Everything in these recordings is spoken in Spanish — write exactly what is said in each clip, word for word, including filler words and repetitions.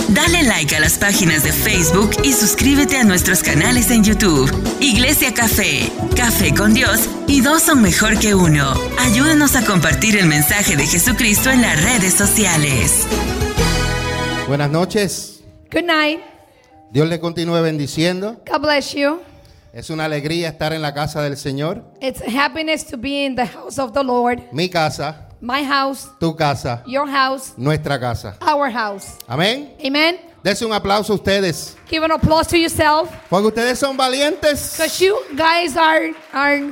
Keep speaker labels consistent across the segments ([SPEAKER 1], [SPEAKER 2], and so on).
[SPEAKER 1] Dale like a las páginas de Facebook y suscríbete a nuestros canales en YouTube. Iglesia Café, Café con Dios y dos son mejor que uno. Ayúdanos a compartir el mensaje de Jesucristo en las redes sociales.
[SPEAKER 2] Buenas noches.
[SPEAKER 3] Good night.
[SPEAKER 2] Dios le continúe bendiciendo.
[SPEAKER 3] God bless you.
[SPEAKER 2] Es una alegría estar en la casa del Señor.
[SPEAKER 3] It's a happiness to be in the house of the Lord.
[SPEAKER 2] Mi casa,
[SPEAKER 3] My house,
[SPEAKER 2] tu casa,
[SPEAKER 3] your house,
[SPEAKER 2] nuestra casa.
[SPEAKER 3] our house.
[SPEAKER 2] Amén.
[SPEAKER 3] Amen.
[SPEAKER 2] Dense un aplauso a ustedes,
[SPEAKER 3] Give an applause to yourself,
[SPEAKER 2] porque ustedes son valientes.
[SPEAKER 3] because you guys are are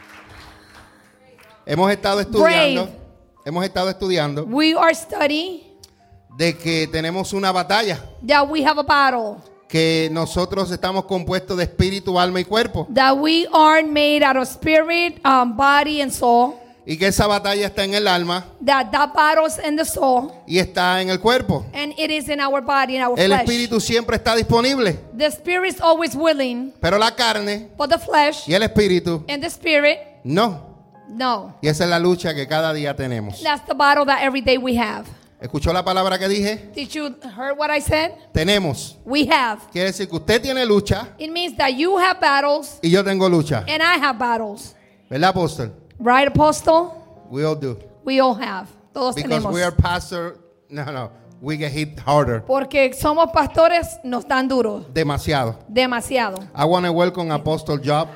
[SPEAKER 2] Hemos estado estudiando,
[SPEAKER 3] brave.
[SPEAKER 2] hemos estado estudiando
[SPEAKER 3] we are studying
[SPEAKER 2] de que tenemos una batalla,
[SPEAKER 3] that we have a battle,
[SPEAKER 2] que nosotros estamos compuestos de espíritu, alma y cuerpo,
[SPEAKER 3] that we are made out of spirit, um, body, and soul.
[SPEAKER 2] y que esa batalla está en el alma
[SPEAKER 3] That that battle's in the soul,
[SPEAKER 2] y está en el cuerpo.
[SPEAKER 3] and it is in our body, in our
[SPEAKER 2] El
[SPEAKER 3] flesh.
[SPEAKER 2] espíritu siempre está disponible,
[SPEAKER 3] The spirit is always willing,
[SPEAKER 2] pero la carne
[SPEAKER 3] but the flesh
[SPEAKER 2] y el espíritu
[SPEAKER 3] and the spirit,
[SPEAKER 2] no.
[SPEAKER 3] no.
[SPEAKER 2] Y esa es la lucha que cada día tenemos.
[SPEAKER 3] That's the battle that every day we have.
[SPEAKER 2] ¿Escuchó la palabra que dije?
[SPEAKER 3] Did you heard what I said?
[SPEAKER 2] Tenemos.
[SPEAKER 3] We have.
[SPEAKER 2] Quiere decir que usted tiene lucha
[SPEAKER 3] It means that you have battles
[SPEAKER 2] y yo tengo lucha.
[SPEAKER 3] and I have battles.
[SPEAKER 2] ¿Verdad, apóstol?
[SPEAKER 3] Right, Apostle?
[SPEAKER 2] We all do.
[SPEAKER 3] We all have. Todos
[SPEAKER 2] Because
[SPEAKER 3] tenemos.
[SPEAKER 2] we are pastor, no, no, we get hit harder.
[SPEAKER 3] Porque somos pastores, nos dan duro.
[SPEAKER 2] Demasiado.
[SPEAKER 3] Demasiado.
[SPEAKER 2] I want to welcome Apostle Job.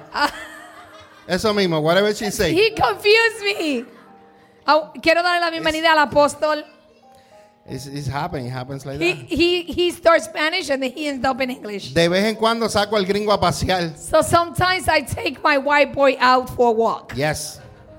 [SPEAKER 2] Eso mismo, whatever she say.
[SPEAKER 3] He confused me. Oh, quiero darle la bienvenida al apóstol.
[SPEAKER 2] It's, it's happening, it happens like
[SPEAKER 3] He,
[SPEAKER 2] that.
[SPEAKER 3] he, he starts Spanish and then he ends up in English.
[SPEAKER 2] De vez en cuando saco al gringo a pasear.
[SPEAKER 3] So sometimes I take my white boy out for a walk.
[SPEAKER 2] Yes.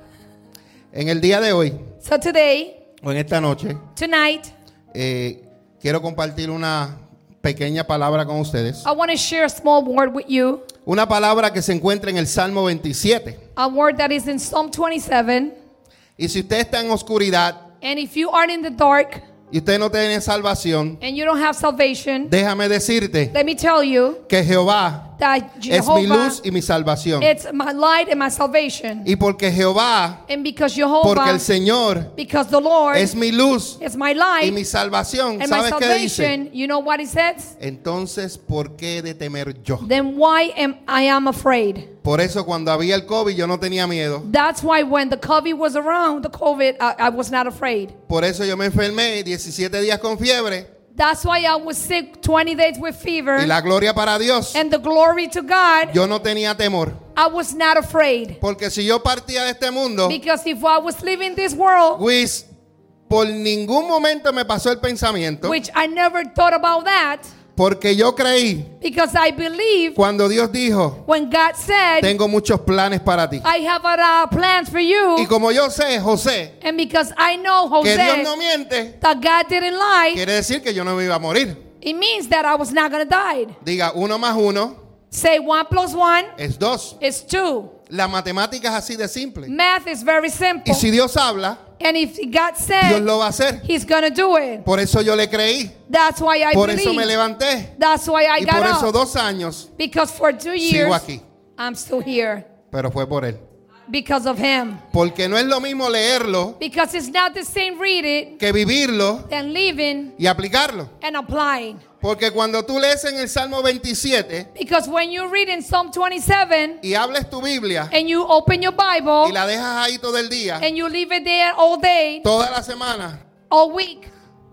[SPEAKER 2] En el día de hoy,
[SPEAKER 3] So today,
[SPEAKER 2] o en esta noche,
[SPEAKER 3] tonight,
[SPEAKER 2] eh, quiero compartir una pequeña palabra con ustedes.
[SPEAKER 3] I want to share a small word with you.
[SPEAKER 2] Una palabra que se encuentra en el Salmo veintisiete.
[SPEAKER 3] A word that is in Psalm twenty-seven.
[SPEAKER 2] Y si usted está en oscuridad
[SPEAKER 3] And if you are in the dark
[SPEAKER 2] y usted no tiene salvación,
[SPEAKER 3] and you don't have salvation,
[SPEAKER 2] déjame decirte
[SPEAKER 3] let me tell you
[SPEAKER 2] que Jehová
[SPEAKER 3] that
[SPEAKER 2] es mi
[SPEAKER 3] Jehovah,
[SPEAKER 2] luz y mi salvación.
[SPEAKER 3] it's my light and my salvation.
[SPEAKER 2] Y porque Jehová,
[SPEAKER 3] And because
[SPEAKER 2] porque
[SPEAKER 3] Jehovah,
[SPEAKER 2] el Señor
[SPEAKER 3] because the Lord
[SPEAKER 2] es mi luz
[SPEAKER 3] is my
[SPEAKER 2] y
[SPEAKER 3] light
[SPEAKER 2] mi salvación,
[SPEAKER 3] and my
[SPEAKER 2] ¿sabes qué dice?
[SPEAKER 3] salvation, you know what he says?
[SPEAKER 2] Entonces, ¿por qué de temer yo?
[SPEAKER 3] Then why am I am afraid?
[SPEAKER 2] Por eso cuando había el COVID yo no tenía miedo.
[SPEAKER 3] That's why when the COVID was around, the COVID, I, I was not afraid.
[SPEAKER 2] Por eso yo me enfermé diecisiete días con fiebre.
[SPEAKER 3] That's why I was sick twenty days with fever.
[SPEAKER 2] Y la gloria para Dios.
[SPEAKER 3] And the glory to God,
[SPEAKER 2] Yo no tenía temor.
[SPEAKER 3] I was not afraid.
[SPEAKER 2] Porque si yo partía de este mundo,
[SPEAKER 3] Because if I was living this world,
[SPEAKER 2] Luis, por ningún momento me pasó el pensamiento.
[SPEAKER 3] which I never thought about that,
[SPEAKER 2] Porque yo creí
[SPEAKER 3] because I believe
[SPEAKER 2] cuando Dios dijo,
[SPEAKER 3] when God said,
[SPEAKER 2] tengo muchos planes para ti.
[SPEAKER 3] I have uh, plans for
[SPEAKER 2] Y
[SPEAKER 3] you,
[SPEAKER 2] como yo sé, José,
[SPEAKER 3] and because I know
[SPEAKER 2] que Dios
[SPEAKER 3] Jose,
[SPEAKER 2] no miente,
[SPEAKER 3] that God didn't lie,
[SPEAKER 2] quiere decir que yo no me iba a morir.
[SPEAKER 3] it means that I was not going to die.
[SPEAKER 2] Diga, uno más uno
[SPEAKER 3] Say one plus one
[SPEAKER 2] es dos.
[SPEAKER 3] is two.
[SPEAKER 2] La matemática es así de simple.
[SPEAKER 3] Math is very simple.
[SPEAKER 2] Y si Dios habla,
[SPEAKER 3] And if God
[SPEAKER 2] Dios
[SPEAKER 3] said,
[SPEAKER 2] lo va a hacer.
[SPEAKER 3] He's going to do it.
[SPEAKER 2] Por eso yo le creí.
[SPEAKER 3] That's why I
[SPEAKER 2] Por eso me
[SPEAKER 3] believe.
[SPEAKER 2] levanté.
[SPEAKER 3] That's why I
[SPEAKER 2] Y
[SPEAKER 3] got
[SPEAKER 2] por eso
[SPEAKER 3] up.
[SPEAKER 2] dos años
[SPEAKER 3] Because for two years,
[SPEAKER 2] sigo aquí.
[SPEAKER 3] I'm still here.
[SPEAKER 2] Pero fue por Él.
[SPEAKER 3] Because of Him.
[SPEAKER 2] Porque no es lo mismo leerlo
[SPEAKER 3] Because it's not the same reading
[SPEAKER 2] que vivirlo
[SPEAKER 3] than living
[SPEAKER 2] y aplicarlo.
[SPEAKER 3] and applying.
[SPEAKER 2] Porque cuando tú lees en el Salmo veintisiete
[SPEAKER 3] Because when you read in Psalm twenty-seven
[SPEAKER 2] y hables tu Biblia
[SPEAKER 3] and you open your Bible
[SPEAKER 2] y la dejas ahí todo el día,
[SPEAKER 3] and you leave it there all day,
[SPEAKER 2] toda la semana,
[SPEAKER 3] all week,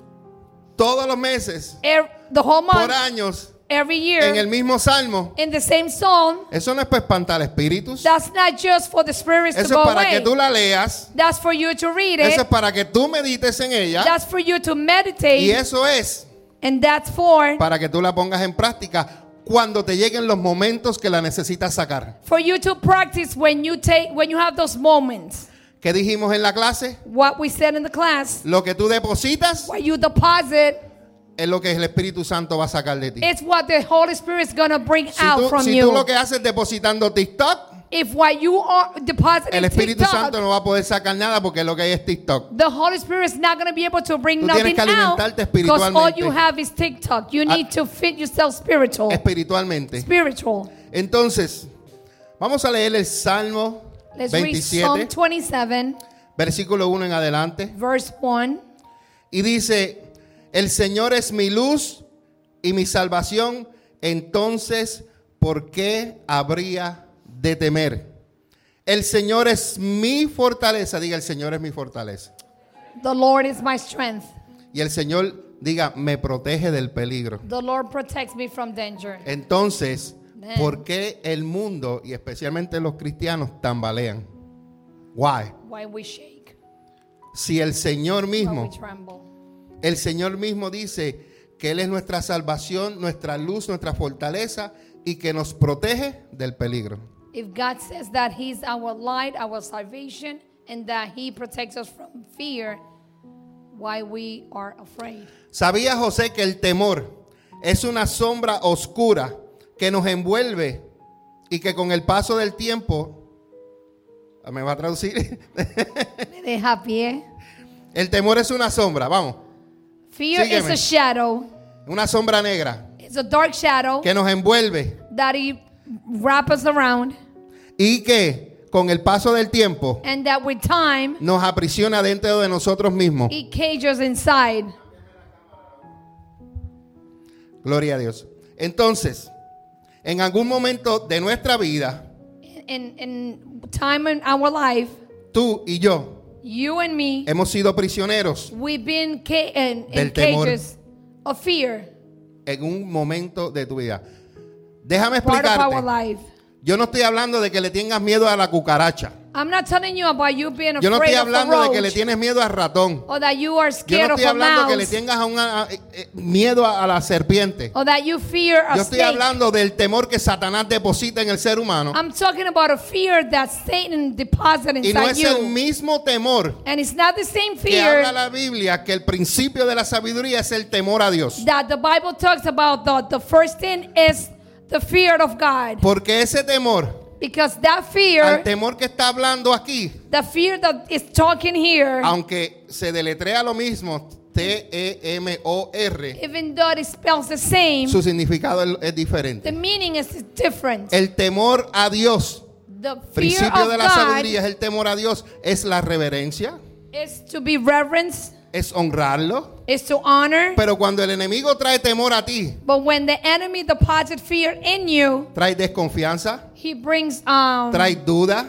[SPEAKER 2] todos los meses,
[SPEAKER 3] er, the whole
[SPEAKER 2] por
[SPEAKER 3] month,
[SPEAKER 2] años,
[SPEAKER 3] every
[SPEAKER 2] en el
[SPEAKER 3] year,
[SPEAKER 2] mismo Salmo,
[SPEAKER 3] in the same psalm,
[SPEAKER 2] eso no es para espantar espíritus.
[SPEAKER 3] that's not just for the spirits to
[SPEAKER 2] Eso
[SPEAKER 3] go
[SPEAKER 2] es para
[SPEAKER 3] away.
[SPEAKER 2] que tú la leas.
[SPEAKER 3] That's for you to read
[SPEAKER 2] Eso es
[SPEAKER 3] it.
[SPEAKER 2] para que tú medites en ella.
[SPEAKER 3] That's for you to
[SPEAKER 2] Y
[SPEAKER 3] meditate.
[SPEAKER 2] eso es
[SPEAKER 3] And that's for
[SPEAKER 2] para que tú la pongas en práctica cuando te lleguen los momentos que la necesitas sacar.
[SPEAKER 3] for you to practice when you take when you have those moments.
[SPEAKER 2] ¿Qué dijimos en la clase?
[SPEAKER 3] What we said in the class,
[SPEAKER 2] Lo que tú depositas
[SPEAKER 3] what you deposit,
[SPEAKER 2] es lo que el Espíritu Santo va a sacar de ti.
[SPEAKER 3] it's what the Holy Spirit is going to bring
[SPEAKER 2] Si
[SPEAKER 3] out
[SPEAKER 2] tú,
[SPEAKER 3] from
[SPEAKER 2] si
[SPEAKER 3] you.
[SPEAKER 2] tú lo que haces depositando TikTok,
[SPEAKER 3] If what you are depositing
[SPEAKER 2] el Espíritu
[SPEAKER 3] TikTok,
[SPEAKER 2] Santo no va a poder sacar nada porque lo que hay es TikTok.
[SPEAKER 3] the Holy Spirit is not going to be able to bring
[SPEAKER 2] Tú tienes
[SPEAKER 3] nothing
[SPEAKER 2] que
[SPEAKER 3] out
[SPEAKER 2] alimentarte
[SPEAKER 3] because all
[SPEAKER 2] espiritualmente.
[SPEAKER 3] you have is TikTok. You need to fit yourself spiritual.
[SPEAKER 2] Espiritualmente.
[SPEAKER 3] Spiritual.
[SPEAKER 2] Entonces, vamos a leer el Salmo
[SPEAKER 3] Let's read Psalm
[SPEAKER 2] veintisiete,
[SPEAKER 3] twenty-seven,
[SPEAKER 2] versículo uno en adelante.
[SPEAKER 3] verse one.
[SPEAKER 2] Y dice, el Señor es mi luz y mi salvación, entonces, ¿por qué habría de temer? El Señor es mi fortaleza. Diga, el Señor es mi fortaleza.
[SPEAKER 3] The Lord is my strength.
[SPEAKER 2] Y el Señor, diga, me protege del peligro.
[SPEAKER 3] The Lord protects me from danger.
[SPEAKER 2] Entonces,
[SPEAKER 3] Then,
[SPEAKER 2] ¿por qué el mundo y especialmente los cristianos tambalean? Why?
[SPEAKER 3] why we shake,
[SPEAKER 2] Si el Señor
[SPEAKER 3] why
[SPEAKER 2] mismo,
[SPEAKER 3] we tremble.
[SPEAKER 2] el Señor mismo dice que Él es nuestra salvación, nuestra luz, nuestra fortaleza y que nos protege del peligro.
[SPEAKER 3] If God says that He's our light, our salvation, and that He protects us from fear, why we are afraid?
[SPEAKER 2] ¿Sabía José que el temor es una sombra oscura que nos envuelve y que con el paso del tiempo, ¿me va a traducir?
[SPEAKER 3] Me deja pie.
[SPEAKER 2] El temor es una sombra, vamos,
[SPEAKER 3] Fear
[SPEAKER 2] Sígueme.
[SPEAKER 3] is a shadow.
[SPEAKER 2] una sombra negra
[SPEAKER 3] It's a dark shadow
[SPEAKER 2] que nos envuelve
[SPEAKER 3] that He wraps us around,
[SPEAKER 2] y que con el paso del tiempo
[SPEAKER 3] and that with time
[SPEAKER 2] nos aprisiona dentro de nosotros mismos.
[SPEAKER 3] it cages inside.
[SPEAKER 2] Gloria a Dios. Entonces, en algún momento de nuestra vida,
[SPEAKER 3] In, in time in our life,
[SPEAKER 2] tú y yo
[SPEAKER 3] you and me,
[SPEAKER 2] hemos sido prisioneros
[SPEAKER 3] we've been ca- in, in
[SPEAKER 2] Del temor.
[SPEAKER 3] cages of fear,
[SPEAKER 2] en un momento de tu vida. Déjame
[SPEAKER 3] part of our
[SPEAKER 2] explicarte.
[SPEAKER 3] life.
[SPEAKER 2] Yo no estoy hablando de que le tengas miedo a la cucaracha.
[SPEAKER 3] I'm not telling you about you being
[SPEAKER 2] Yo no
[SPEAKER 3] afraid
[SPEAKER 2] estoy
[SPEAKER 3] of a
[SPEAKER 2] hablando de que le
[SPEAKER 3] roach,
[SPEAKER 2] tienes miedo al ratón.
[SPEAKER 3] or that you are
[SPEAKER 2] Yo
[SPEAKER 3] scared
[SPEAKER 2] no
[SPEAKER 3] of
[SPEAKER 2] estoy
[SPEAKER 3] a
[SPEAKER 2] hablando que le
[SPEAKER 3] mouse,
[SPEAKER 2] tengas a una, a- eh, miedo a, a la serpiente.
[SPEAKER 3] or that you fear a
[SPEAKER 2] Yo estoy
[SPEAKER 3] snake.
[SPEAKER 2] hablando del temor que Satanás deposita en el ser humano.
[SPEAKER 3] I'm talking about a fear that Satan deposited
[SPEAKER 2] Y no
[SPEAKER 3] inside
[SPEAKER 2] es el
[SPEAKER 3] you.
[SPEAKER 2] mismo temor
[SPEAKER 3] And it's not the same
[SPEAKER 2] que habla
[SPEAKER 3] fear
[SPEAKER 2] la Biblia, que el principio de la sabiduría es el temor a Dios.
[SPEAKER 3] that the Bible talks about. The, the first thing is the fear of God.
[SPEAKER 2] Porque ese temor,
[SPEAKER 3] Because that
[SPEAKER 2] al
[SPEAKER 3] fear,
[SPEAKER 2] temor que está hablando aquí,
[SPEAKER 3] the fear that is talking here,
[SPEAKER 2] aunque se deletrea lo mismo, T E M O R,
[SPEAKER 3] even though it spells the same,
[SPEAKER 2] su significado es, es
[SPEAKER 3] the
[SPEAKER 2] diferente.
[SPEAKER 3] meaning is different.
[SPEAKER 2] El temor a Dios,
[SPEAKER 3] The fear
[SPEAKER 2] principio
[SPEAKER 3] of
[SPEAKER 2] de la
[SPEAKER 3] God
[SPEAKER 2] sabiduría es el temor a Dios, es la reverencia,
[SPEAKER 3] is to be reverenced,
[SPEAKER 2] es honrarlo.
[SPEAKER 3] is to honor.
[SPEAKER 2] Pero cuando el enemigo trae temor a ti,
[SPEAKER 3] But when the enemy deposits fear in you,
[SPEAKER 2] trae desconfianza,
[SPEAKER 3] he brings um,
[SPEAKER 2] trae duda,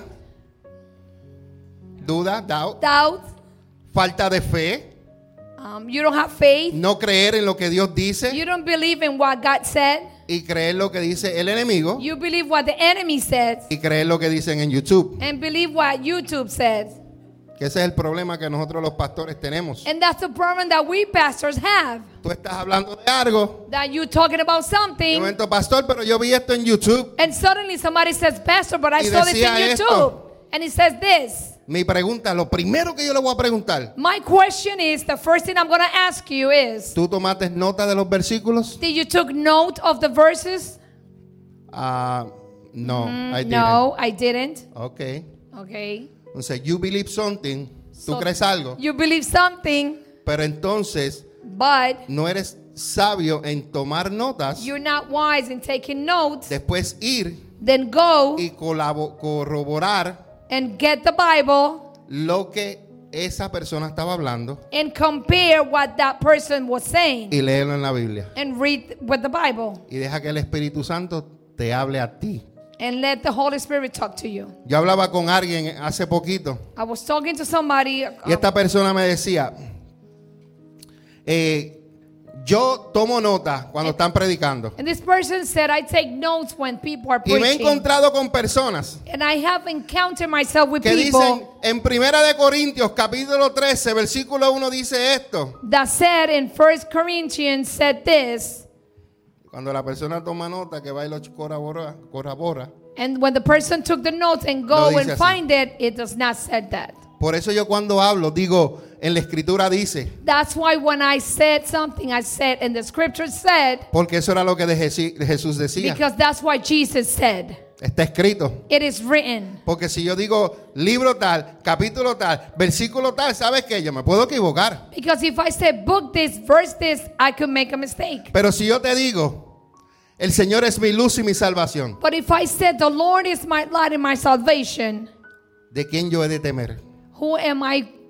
[SPEAKER 2] duda, doubt,
[SPEAKER 3] doubt.
[SPEAKER 2] falta de fe,
[SPEAKER 3] Um, you don't have faith.
[SPEAKER 2] no creer en lo que Dios dice
[SPEAKER 3] You don't believe in what God said.
[SPEAKER 2] y creer lo que dice el enemigo
[SPEAKER 3] You believe what the enemy says
[SPEAKER 2] y creer lo que dicen en YouTube.
[SPEAKER 3] and believe what YouTube says.
[SPEAKER 2] Que ese es el problema que nosotros los pastores tenemos.
[SPEAKER 3] And that's the problem that we pastors have.
[SPEAKER 2] Tú estás hablando de algo,
[SPEAKER 3] That you talking about
[SPEAKER 2] de
[SPEAKER 3] something,
[SPEAKER 2] momento, pastor, pero yo vi esto en YouTube.
[SPEAKER 3] and suddenly somebody says, Pastor, but I
[SPEAKER 2] Y
[SPEAKER 3] saw this in
[SPEAKER 2] decía
[SPEAKER 3] YouTube.
[SPEAKER 2] esto.
[SPEAKER 3] And it says this.
[SPEAKER 2] Mi pregunta, lo primero que yo le voy a preguntar,
[SPEAKER 3] My question is, the first thing I'm going to ask you is,
[SPEAKER 2] ¿tú tomaste nota de los versículos?
[SPEAKER 3] did you took note of the verses?
[SPEAKER 2] Ah, no, I didn't.
[SPEAKER 3] No, I didn't.
[SPEAKER 2] Ok.
[SPEAKER 3] Okay.
[SPEAKER 2] Entonces, you believe something, tú
[SPEAKER 3] So,
[SPEAKER 2] crees algo,
[SPEAKER 3] You believe something,
[SPEAKER 2] pero entonces
[SPEAKER 3] but
[SPEAKER 2] no eres sabio en tomar notas,
[SPEAKER 3] you're not wise in taking notes.
[SPEAKER 2] después ir
[SPEAKER 3] Then go
[SPEAKER 2] y colabo- corroborar
[SPEAKER 3] and get the Bible
[SPEAKER 2] lo que esa persona estaba hablando
[SPEAKER 3] and compare what that person was saying
[SPEAKER 2] y léelo en la Biblia.
[SPEAKER 3] and read with the Bible
[SPEAKER 2] Y deja que el Espíritu Santo te hable a ti.
[SPEAKER 3] and let the Holy Spirit talk to you.
[SPEAKER 2] Yo hablaba con alguien hace poquito
[SPEAKER 3] I was talking to somebody. uh,
[SPEAKER 2] y esta persona me decía, eh, yo tomo nota cuando están predicando.
[SPEAKER 3] And this person said, I take notes when people are
[SPEAKER 2] Y me he
[SPEAKER 3] preaching.
[SPEAKER 2] encontrado con personas
[SPEAKER 3] And I have encountered myself with
[SPEAKER 2] que dicen
[SPEAKER 3] people
[SPEAKER 2] en Primera de Corintios capítulo trece versículo uno dice esto.
[SPEAKER 3] that said in First Corinthians said this.
[SPEAKER 2] Cuando la persona toma nota que va y lo corrobora, corrobora.
[SPEAKER 3] And when the person took the notes and
[SPEAKER 2] No
[SPEAKER 3] go
[SPEAKER 2] dice
[SPEAKER 3] and
[SPEAKER 2] así.
[SPEAKER 3] find it, it does not say that.
[SPEAKER 2] Por eso yo cuando hablo digo, en la escritura dice,
[SPEAKER 3] That's why when I said something, I said, and the scripture said,
[SPEAKER 2] porque eso era lo que de Jesi- de Jesús decía.
[SPEAKER 3] because that's what Jesus said.
[SPEAKER 2] Está escrito.
[SPEAKER 3] It is written.
[SPEAKER 2] Porque si yo digo libro tal, capítulo tal, versículo tal, ¿sabes qué? Yo me puedo equivocar.
[SPEAKER 3] Because if I say book this, verse this, I could make a mistake.
[SPEAKER 2] Pero si yo te digo, el Señor es mi luz y mi salvación,
[SPEAKER 3] But if I said the Lord is my light and my salvation,
[SPEAKER 2] ¿de quién yo he de temer?
[SPEAKER 3] who am I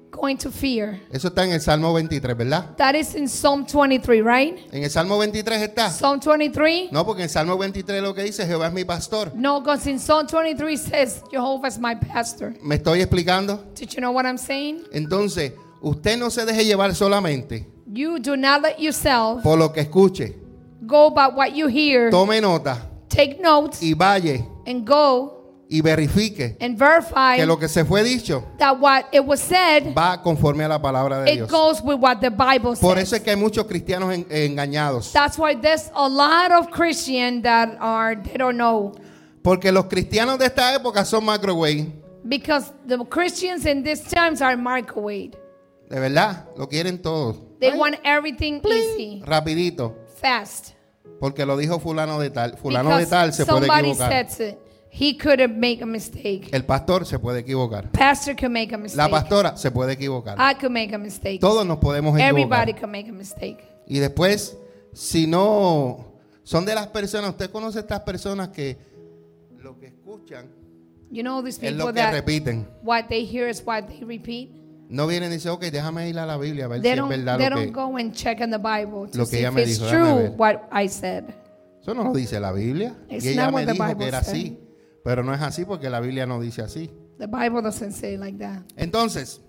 [SPEAKER 3] going to fear.
[SPEAKER 2] Eso está en el Salmo veintitrés, ¿verdad?
[SPEAKER 3] That is in Psalm twenty-three, right?
[SPEAKER 2] En el Salmo veintitrés está.
[SPEAKER 3] Psalm twenty-three?
[SPEAKER 2] No, porque en el Salmo veintitrés lo que dice, Jehová es mi pastor.
[SPEAKER 3] No, because in Psalm twenty-three says, Jehovah is my pastor.
[SPEAKER 2] ¿Me estoy explicando?
[SPEAKER 3] Did you know what I'm saying?
[SPEAKER 2] Entonces, usted no se deje llevar solamente
[SPEAKER 3] You do not let yourself
[SPEAKER 2] por lo que escuche.
[SPEAKER 3] go by what you hear.
[SPEAKER 2] Tome nota
[SPEAKER 3] Take notes
[SPEAKER 2] y vaya
[SPEAKER 3] and go
[SPEAKER 2] y verifique
[SPEAKER 3] and verify
[SPEAKER 2] que lo que se fue dicho
[SPEAKER 3] that what it was said,
[SPEAKER 2] va conforme a la palabra de
[SPEAKER 3] it
[SPEAKER 2] Dios.
[SPEAKER 3] goes with what the Bible
[SPEAKER 2] Por
[SPEAKER 3] says.
[SPEAKER 2] eso es que hay muchos cristianos en- engañados.
[SPEAKER 3] That's why there's a lot of Christians that are, they don't know.
[SPEAKER 2] Porque los cristianos de esta época son microwave.
[SPEAKER 3] Because the Christians in these times are microwave.
[SPEAKER 2] De verdad, lo quieren todo.
[SPEAKER 3] They
[SPEAKER 2] Ay,
[SPEAKER 3] want everything easy,
[SPEAKER 2] rapidito.
[SPEAKER 3] fast.
[SPEAKER 2] Porque lo dijo fulano de tal. Fulano de
[SPEAKER 3] Because
[SPEAKER 2] tal se puede
[SPEAKER 3] somebody
[SPEAKER 2] equivocar.
[SPEAKER 3] said it. He could have made a mistake.
[SPEAKER 2] El pastor se puede equivocar.
[SPEAKER 3] Pastor could make a
[SPEAKER 2] La
[SPEAKER 3] mistake.
[SPEAKER 2] pastora se puede equivocar.
[SPEAKER 3] I could make a mistake.
[SPEAKER 2] Todos nos podemos
[SPEAKER 3] Everybody
[SPEAKER 2] equivocar.
[SPEAKER 3] could make a mistake.
[SPEAKER 2] Y después, si no son de las personas, usted conoce estas personas que lo que escuchan
[SPEAKER 3] You know these
[SPEAKER 2] es
[SPEAKER 3] people
[SPEAKER 2] lo que
[SPEAKER 3] that
[SPEAKER 2] repiten.
[SPEAKER 3] what they hear is what they repeat.
[SPEAKER 2] No vienen y dicen, ok, déjame ir a la Biblia a ver
[SPEAKER 3] They
[SPEAKER 2] si es
[SPEAKER 3] don't,
[SPEAKER 2] verdad
[SPEAKER 3] they
[SPEAKER 2] lo
[SPEAKER 3] don't
[SPEAKER 2] que...
[SPEAKER 3] go and check in the Bible to
[SPEAKER 2] lo que
[SPEAKER 3] see
[SPEAKER 2] ella
[SPEAKER 3] if
[SPEAKER 2] me
[SPEAKER 3] it's
[SPEAKER 2] dijo, déjame
[SPEAKER 3] true
[SPEAKER 2] ver.
[SPEAKER 3] what I said.
[SPEAKER 2] Eso no lo dice la Biblia.
[SPEAKER 3] It's
[SPEAKER 2] y ella
[SPEAKER 3] not
[SPEAKER 2] me
[SPEAKER 3] what the
[SPEAKER 2] dijo
[SPEAKER 3] Bible
[SPEAKER 2] que era
[SPEAKER 3] said.
[SPEAKER 2] así. Pero no es así porque la Biblia no dice así.
[SPEAKER 3] The Bible doesn't say like that.
[SPEAKER 2] Entonces,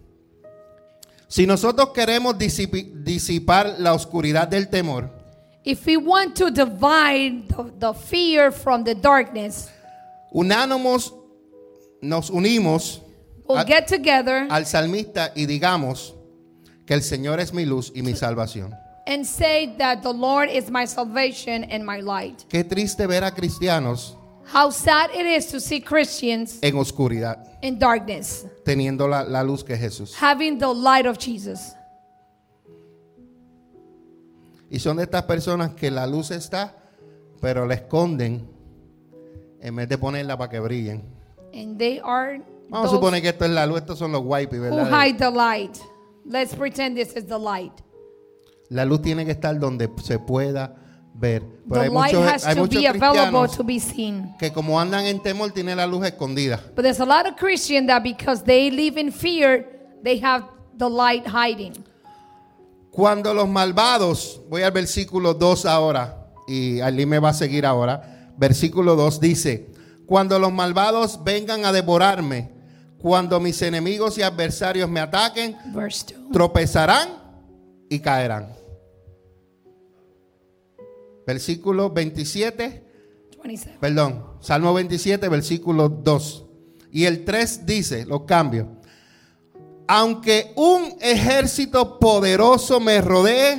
[SPEAKER 2] si nosotros queremos disipi- disipar la oscuridad del temor,
[SPEAKER 3] If we want to divide the, the fear from the darkness,
[SPEAKER 2] unánimos, nos unimos
[SPEAKER 3] we'll
[SPEAKER 2] a-
[SPEAKER 3] get together
[SPEAKER 2] al salmista y digamos que el Señor es mi luz y mi salvación.
[SPEAKER 3] and say that the Lord is my salvation and my light.
[SPEAKER 2] Qué triste ver a cristianos
[SPEAKER 3] How sad it is to see Christians
[SPEAKER 2] en oscuridad,
[SPEAKER 3] in darkness,
[SPEAKER 2] teniendo la, la luz que es Jesús.
[SPEAKER 3] having the light of Jesus.
[SPEAKER 2] Y son de estas personas que la luz está, pero la esconden en vez de ponerla para que brillen.
[SPEAKER 3] And they are
[SPEAKER 2] Vamos a
[SPEAKER 3] those
[SPEAKER 2] suponer que esto es la luz, estos son los wipes,
[SPEAKER 3] who
[SPEAKER 2] ¿verdad?
[SPEAKER 3] hide the light. Let's pretend this is the light.
[SPEAKER 2] La luz tiene que estar donde se pueda ver. Pero
[SPEAKER 3] The
[SPEAKER 2] hay
[SPEAKER 3] light
[SPEAKER 2] muchos,
[SPEAKER 3] has
[SPEAKER 2] hay
[SPEAKER 3] to
[SPEAKER 2] muchos
[SPEAKER 3] be available
[SPEAKER 2] cristianos
[SPEAKER 3] to be seen.
[SPEAKER 2] que como andan en temor tienen la luz escondida.
[SPEAKER 3] But there's a lot of Christians that because they live in fear, they have the light hiding.
[SPEAKER 2] Cuando los malvados, voy al versículo dos ahora, y Ali me va a seguir ahora. Versículo dos dice: cuando los malvados vengan a devorarme, cuando mis enemigos y adversarios me ataquen,
[SPEAKER 3] Verse two.
[SPEAKER 2] tropezarán y caerán. Versículo veintisiete,
[SPEAKER 3] twenty-seven.
[SPEAKER 2] perdón, Salmo veintisiete, versículo dos. Y el tres dice, los cambios: aunque un ejército poderoso me rodee,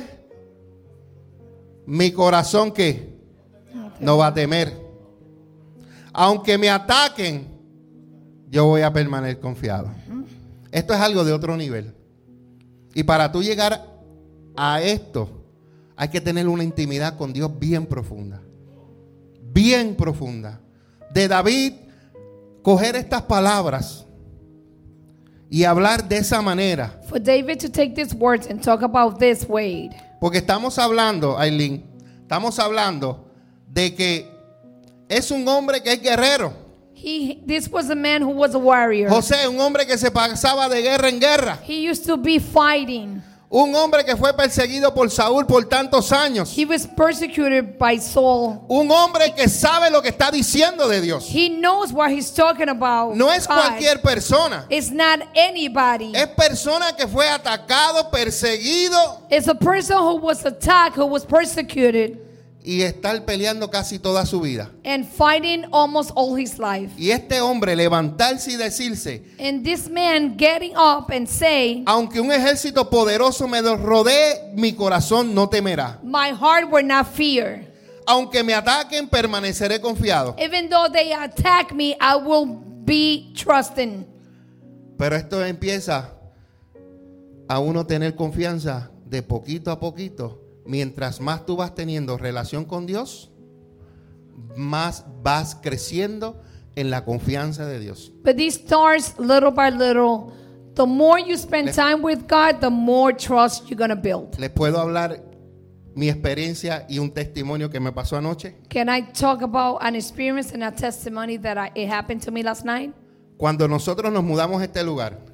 [SPEAKER 2] mi corazón ¿qué? No va a temer. Aunque me ataquen, yo voy a permanecer confiado. Esto es algo de otro nivel. Y para tú llegar a esto, hay que tener una intimidad con Dios bien profunda. Bien profunda. De David, coger estas palabras y hablar de esa manera.
[SPEAKER 3] For David to take these words and talk about this way.
[SPEAKER 2] Porque estamos hablando, Aileen, estamos hablando de que es un hombre que es guerrero.
[SPEAKER 3] He, this was a man who was a warrior.
[SPEAKER 2] José, un hombre que se pasaba de guerra en guerra.
[SPEAKER 3] He used to be fighting.
[SPEAKER 2] Un hombre que fue perseguido por Saúl por tantos años.
[SPEAKER 3] He was persecuted by Saul.
[SPEAKER 2] Un hombre que sabe lo que está diciendo de Dios.
[SPEAKER 3] He knows what he's talking about.
[SPEAKER 2] No es
[SPEAKER 3] God.
[SPEAKER 2] cualquier persona.
[SPEAKER 3] It's not anybody.
[SPEAKER 2] Es persona que fue atacado, perseguido
[SPEAKER 3] It's a person who was attacked, who was persecuted,
[SPEAKER 2] y estar peleando casi toda su vida.
[SPEAKER 3] and fighting almost all his life.
[SPEAKER 2] Y este hombre levantarse y decirse:
[SPEAKER 3] And this man getting up and say,
[SPEAKER 2] aunque un ejército poderoso me rodee, mi corazón no temerá.
[SPEAKER 3] my heart will not fear.
[SPEAKER 2] Aunque me ataquen, permaneceré confiado.
[SPEAKER 3] Even though they attack me, I will be trusting.
[SPEAKER 2] Pero esto empieza a uno tener confianza de poquito a poquito. Mientras más tú vas teniendo relación con Dios, más vas creciendo en la confianza de Dios.
[SPEAKER 3] But this starts little by little. The more you spend time with God, the more trust you're going to build.
[SPEAKER 2] Les puedo hablar mi experiencia y un testimonio que me pasó anoche.
[SPEAKER 3] Can I talk about an experience and a testimony that I, it happened to me last night?
[SPEAKER 2] Cuando nosotros nos mudamos a este lugar,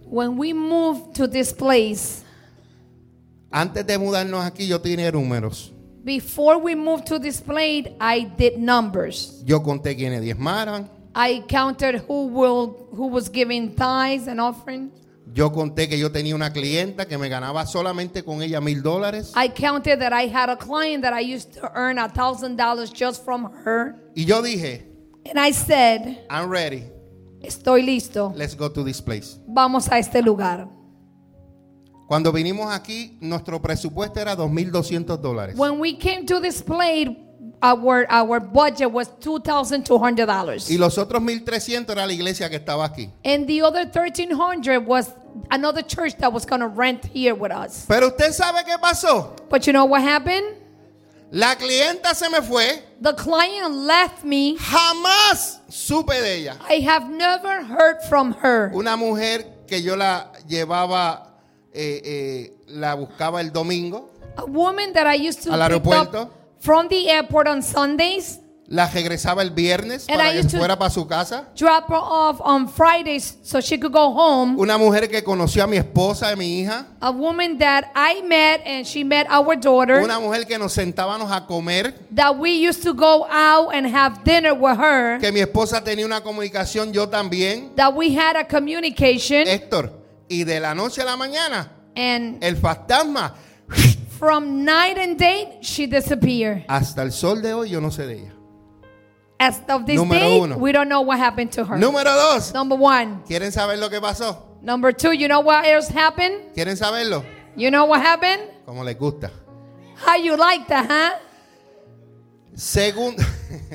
[SPEAKER 3] When we moved to this place,
[SPEAKER 2] Antes de mudarnos aquí yo tenía números.
[SPEAKER 3] before we moved to this place, I did numbers.
[SPEAKER 2] Yo conté quiénes diezmaran.
[SPEAKER 3] I counted who will who was giving tithes and offerings.
[SPEAKER 2] Yo conté que yo tenía una clienta que me ganaba solamente con ella mil dólares.
[SPEAKER 3] I counted that I had a client that I used to earn a thousand dollars just from her.
[SPEAKER 2] Y yo dije,
[SPEAKER 3] And I said,
[SPEAKER 2] I'm ready.
[SPEAKER 3] estoy listo.
[SPEAKER 2] Let's go to this place.
[SPEAKER 3] Vamos a este lugar.
[SPEAKER 2] Cuando vinimos aquí, nuestro presupuesto era dos mil doscientos dólares.
[SPEAKER 3] When we came to this place, our our budget was two thousand two hundred dollars.
[SPEAKER 2] Y los otros mil trescientos era la iglesia que estaba aquí.
[SPEAKER 3] And the other thirteen hundred was another church that was going to rent here with us.
[SPEAKER 2] Pero usted sabe qué pasó.
[SPEAKER 3] But you know what happened?
[SPEAKER 2] La clienta se me fue.
[SPEAKER 3] The client left me.
[SPEAKER 2] Jamás supe de ella.
[SPEAKER 3] I have never heard from her.
[SPEAKER 2] Una mujer que yo la llevaba, eh, eh, la buscaba el domingo,
[SPEAKER 3] A woman that I used to
[SPEAKER 2] Al
[SPEAKER 3] pick
[SPEAKER 2] aeropuerto.
[SPEAKER 3] up from the airport on Sundays,
[SPEAKER 2] la regresaba el viernes
[SPEAKER 3] And
[SPEAKER 2] para
[SPEAKER 3] I
[SPEAKER 2] que
[SPEAKER 3] used to-
[SPEAKER 2] fuera para su casa.
[SPEAKER 3] drop her off on Fridays so she could go home.
[SPEAKER 2] Una mujer que conoció a mi esposa y mi hija.
[SPEAKER 3] A woman that I met and she met our daughter.
[SPEAKER 2] Una mujer que nos sentábamos a comer.
[SPEAKER 3] That we used to go out and have dinner with her.
[SPEAKER 2] Que mi esposa tenía una comunicación, yo también.
[SPEAKER 3] That we had a communication.
[SPEAKER 2] Héctor, y de la noche a la mañana,
[SPEAKER 3] And
[SPEAKER 2] el fantasma,
[SPEAKER 3] from night and day, she disappeared.
[SPEAKER 2] hasta el sol de hoy yo no sé de ella.
[SPEAKER 3] As of this
[SPEAKER 2] Número
[SPEAKER 3] day,
[SPEAKER 2] uno.
[SPEAKER 3] we don't know what happened to her.
[SPEAKER 2] Número dos,
[SPEAKER 3] Number one.
[SPEAKER 2] ¿quieren saber lo que pasó?
[SPEAKER 3] Number two, you know what else happened?
[SPEAKER 2] ¿Quieren saberlo?
[SPEAKER 3] You know what happened?
[SPEAKER 2] Como les gusta.
[SPEAKER 3] How you like that, huh?
[SPEAKER 2] Segundo,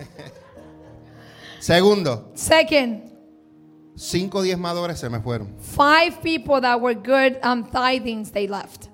[SPEAKER 2] segundo,
[SPEAKER 3] Second,
[SPEAKER 2] cinco diezmadores se me fueron.
[SPEAKER 3] five people that were good um, tithings, they left.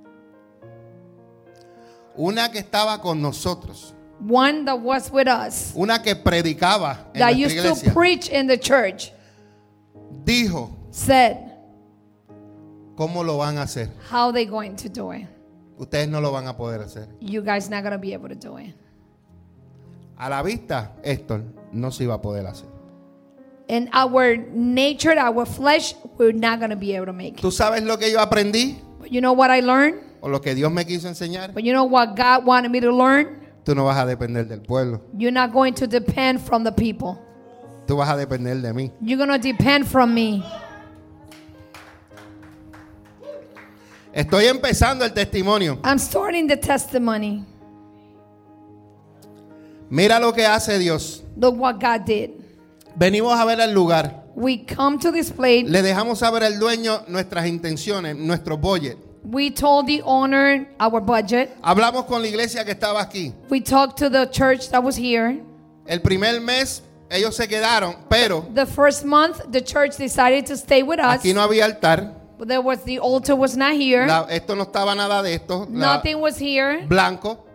[SPEAKER 2] Una que estaba con nosotros,
[SPEAKER 3] One that was with us,
[SPEAKER 2] una que predicaba en
[SPEAKER 3] that
[SPEAKER 2] nuestra
[SPEAKER 3] used to
[SPEAKER 2] iglesia,
[SPEAKER 3] preach in the church,
[SPEAKER 2] dijo,
[SPEAKER 3] said,
[SPEAKER 2] ¿cómo lo van a hacer?
[SPEAKER 3] how they going to do it?
[SPEAKER 2] Ustedes no lo van a poder hacer.
[SPEAKER 3] You guys not going to be able to do it.
[SPEAKER 2] A la vista, Héctor no se iba a poder hacer.
[SPEAKER 3] In our nature, our flesh, we're not going to be able to make it.
[SPEAKER 2] ¿Tú sabes lo que yo aprendí?
[SPEAKER 3] But you know what I learned?
[SPEAKER 2] ¿O lo que Dios me quiso enseñar?
[SPEAKER 3] But you know what God wanted me to learn?
[SPEAKER 2] Tú no vas a depender del pueblo.
[SPEAKER 3] You're not going to depend from the people.
[SPEAKER 2] Tú vas a depender de mí.
[SPEAKER 3] You're going to depend from me.
[SPEAKER 2] Estoy empezando el testimonio.
[SPEAKER 3] I'm starting the testimony.
[SPEAKER 2] Mira lo que hace Dios.
[SPEAKER 3] Look what God did.
[SPEAKER 2] Venimos a ver el lugar.
[SPEAKER 3] We come to this place.
[SPEAKER 2] Le dejamos saber al dueño nuestras intenciones, nuestro budget.
[SPEAKER 3] We told the owner our budget.
[SPEAKER 2] Hablamos con la iglesia que estaba aquí.
[SPEAKER 3] We talked to the church that was here.
[SPEAKER 2] El primer mes ellos se quedaron, pero
[SPEAKER 3] The first month, the church decided to stay with us.
[SPEAKER 2] aquí no había altar.
[SPEAKER 3] But there was the altar was not here.
[SPEAKER 2] La- esto no estaba nada de esto. la-
[SPEAKER 3] Nothing was here.
[SPEAKER 2] blanco.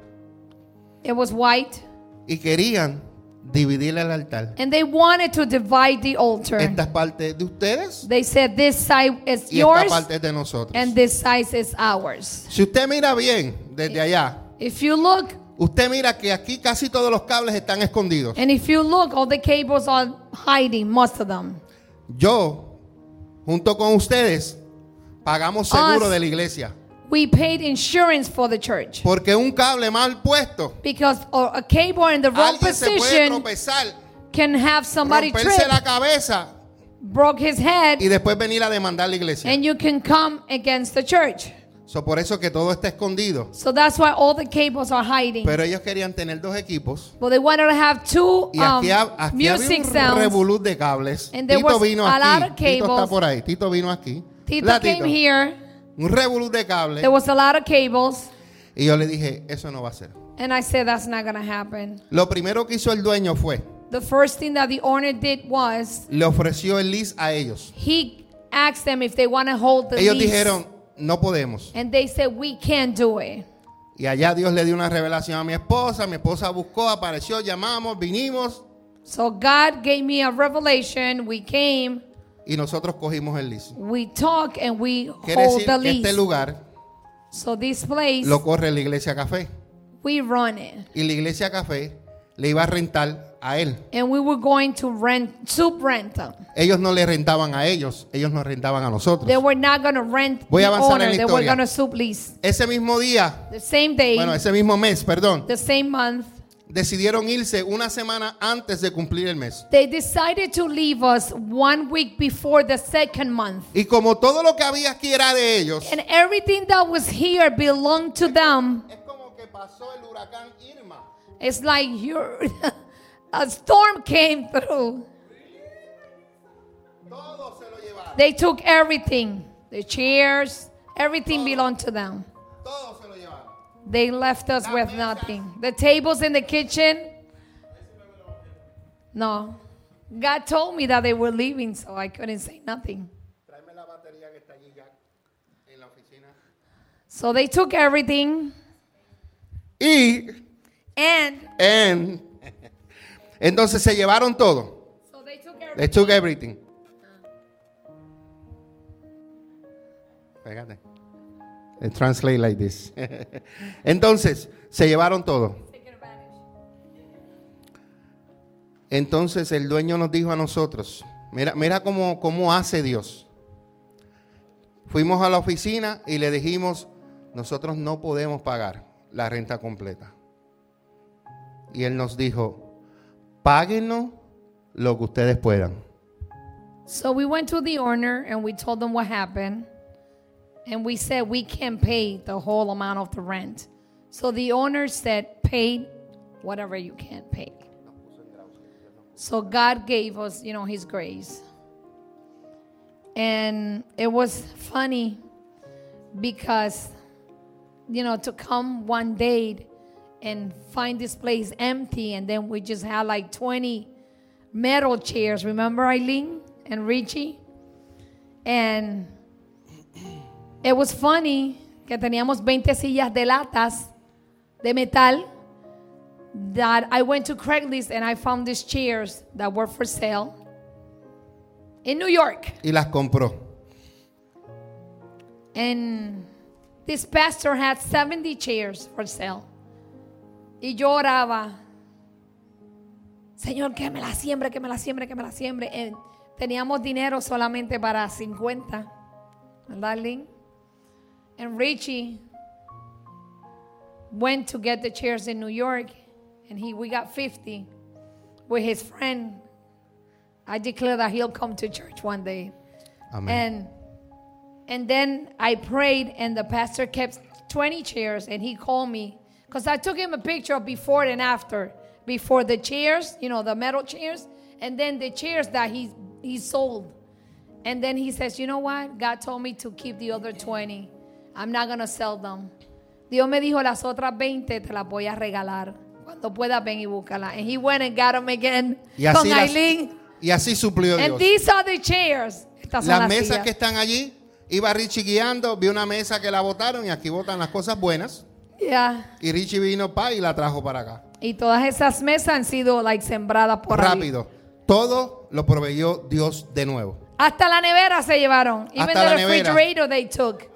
[SPEAKER 3] It was white.
[SPEAKER 2] Y querían dividir el altar.
[SPEAKER 3] And they wanted to divide the altar.
[SPEAKER 2] Esta es parte de ustedes
[SPEAKER 3] They said this side is
[SPEAKER 2] y esta
[SPEAKER 3] yours
[SPEAKER 2] parte es de nosotros.
[SPEAKER 3] and this side is ours.
[SPEAKER 2] Si usted mira bien desde allá,
[SPEAKER 3] If you look,
[SPEAKER 2] usted mira que aquí casi todos los cables están escondidos.
[SPEAKER 3] and if you look, all the cables are hiding, most of them.
[SPEAKER 2] Yo, junto con ustedes, pagamos seguro
[SPEAKER 3] Us.
[SPEAKER 2] de la iglesia.
[SPEAKER 3] We paid insurance for the church.
[SPEAKER 2] Porque un cable mal puesto,
[SPEAKER 3] Because a a cable in the wrong
[SPEAKER 2] alguien se puede
[SPEAKER 3] position
[SPEAKER 2] tropezar,
[SPEAKER 3] can have somebody
[SPEAKER 2] romperse
[SPEAKER 3] trip,
[SPEAKER 2] la cabeza
[SPEAKER 3] broke his head,
[SPEAKER 2] y después venir a demandar la iglesia.
[SPEAKER 3] and you can come against the church.
[SPEAKER 2] So, por eso que todo está escondido.
[SPEAKER 3] So that's why all the cables are hiding.
[SPEAKER 2] Pero ellos querían tener dos equipos.
[SPEAKER 3] But they wanted to have two
[SPEAKER 2] Y
[SPEAKER 3] um,
[SPEAKER 2] aquí, ha- aquí
[SPEAKER 3] music
[SPEAKER 2] había un
[SPEAKER 3] sounds.
[SPEAKER 2] revolú de cables.
[SPEAKER 3] And there
[SPEAKER 2] Tito
[SPEAKER 3] was
[SPEAKER 2] vino
[SPEAKER 3] a lot
[SPEAKER 2] aquí.
[SPEAKER 3] of
[SPEAKER 2] Tito está
[SPEAKER 3] cables.
[SPEAKER 2] por ahí. Tito vino aquí.
[SPEAKER 3] Tito
[SPEAKER 2] ¿Verdad,
[SPEAKER 3] came
[SPEAKER 2] Tito?
[SPEAKER 3] here.
[SPEAKER 2] Un revolú de cables.
[SPEAKER 3] There was a lot of cables.
[SPEAKER 2] Y yo le dije, eso no va a ser.
[SPEAKER 3] And I said, that's not going to happen.
[SPEAKER 2] Lo primero que hizo el dueño fue,
[SPEAKER 3] The first thing that the owner did was
[SPEAKER 2] le ofreció el lease a ellos.
[SPEAKER 3] he asked them if they want to hold the
[SPEAKER 2] Ellos
[SPEAKER 3] lease.
[SPEAKER 2] dijeron, no podemos.
[SPEAKER 3] And they said, we can't do it.
[SPEAKER 2] Y allá Dios le dio una revelación a mi esposa. Mi esposa buscó, apareció, llamamos, vinimos
[SPEAKER 3] So God gave me a revelation. We came,
[SPEAKER 2] y nosotros cogimos el lease.
[SPEAKER 3] we talk, and we
[SPEAKER 2] Quiere
[SPEAKER 3] hold
[SPEAKER 2] decir
[SPEAKER 3] the
[SPEAKER 2] que este
[SPEAKER 3] lease.
[SPEAKER 2] lugar
[SPEAKER 3] So this place,
[SPEAKER 2] lo corre la iglesia Café.
[SPEAKER 3] we run it.
[SPEAKER 2] Y la iglesia Café le iba a rentar a él.
[SPEAKER 3] And we were going to rent, subrent them.
[SPEAKER 2] Ellos no le rentaban a ellos, ellos nos rentaban a nosotros.
[SPEAKER 3] They were not going to rent
[SPEAKER 2] Voy a
[SPEAKER 3] the
[SPEAKER 2] avanzar
[SPEAKER 3] owner.
[SPEAKER 2] en la
[SPEAKER 3] They were
[SPEAKER 2] historia.
[SPEAKER 3] going to sublease.
[SPEAKER 2] Ese mismo día,
[SPEAKER 3] The same day,
[SPEAKER 2] bueno, ese mismo mes, perdón,
[SPEAKER 3] the same month,
[SPEAKER 2] decidieron irse una semana antes de cumplir el mes.
[SPEAKER 3] they decided to leave us one week before the second month.
[SPEAKER 2] Y como todo lo que había aquí era de ellos,
[SPEAKER 3] And everything that was here belonged to them.
[SPEAKER 2] es como que pasó el huracán Irma.
[SPEAKER 3] It's like you're, a storm came through.
[SPEAKER 2] Todo se lo llevaron.
[SPEAKER 3] They took everything. The chairs, everything belonged to them.
[SPEAKER 2] Todo se lo llevaron.
[SPEAKER 3] They left us with nothing. The tables in the kitchen. No. God told me that they were leaving, so I couldn't say nothing.
[SPEAKER 2] Tráeme la batería que está allí ya en la oficina.
[SPEAKER 3] So they took everything.
[SPEAKER 2] Y
[SPEAKER 3] And
[SPEAKER 2] en, entonces se llevaron todo.
[SPEAKER 3] so they took everything.
[SPEAKER 2] They took everything. Fíjate. They translate like this. Entonces, se llevaron todo. Entonces el dueño nos dijo a nosotros, mira, mira cómo, cómo hace Dios. Fuimos a la oficina y le dijimos, nosotros no podemos pagar la renta completa. Y él nos dijo, páguenos lo que ustedes puedan.
[SPEAKER 3] So we went to the owner and we told them what happened. And we said we can't pay the whole amount of the rent. So the owner said, pay whatever you can pay. So God gave us, you know, his grace. And it was funny because, you know, to come one day and find this place empty, and then we just had like twenty metal chairs. Remember Eileen and Richie? And it was funny que teníamos veinte sillas de latas de metal that I went to Craigslist and I found these chairs that were for sale in New York.
[SPEAKER 2] Y las compró.
[SPEAKER 3] And this pastor had seventy chairs for sale. Y yo oraba, Señor, que me la siembre, que me la siembre, que me la siembre. And teníamos dinero solamente para cincuenta, ¿verdad, Lynn? And Richie went to get the chairs in New York, and he we got fifty with his friend. I declare that he'll come to church one day.
[SPEAKER 2] Amén.
[SPEAKER 3] And and then I prayed, and the pastor kept twenty chairs, and he called me because I took him a picture of before and after. Before the chairs, you know, the metal chairs, and then the chairs that he he sold. And then he says, you know what? God told me to keep the other twenty. I'm not going to sell them. Dios me dijo, las otras veinte te las voy a regalar. Cuando puedas, ven y búscala. And he went and got them again
[SPEAKER 2] Y así,
[SPEAKER 3] con
[SPEAKER 2] las-
[SPEAKER 3] Eileen.
[SPEAKER 2] y así suplió
[SPEAKER 3] And
[SPEAKER 2] Dios.
[SPEAKER 3] these are the chairs. Estas son
[SPEAKER 2] Las
[SPEAKER 3] las
[SPEAKER 2] mesas
[SPEAKER 3] sillas.
[SPEAKER 2] que están allí, iba Richie guiando, vi una mesa que la botaron y aquí botan las cosas buenas.
[SPEAKER 3] Yeah.
[SPEAKER 2] Y Richie vino pa y la trajo para acá.
[SPEAKER 3] Y todas esas mesas han sido like sembradas por ahí.
[SPEAKER 2] Rápido. Todo lo proveyó Dios de nuevo.
[SPEAKER 3] Hasta la nevera se llevaron. Even
[SPEAKER 2] Hasta la
[SPEAKER 3] the
[SPEAKER 2] nevera.
[SPEAKER 3] refrigerator they took.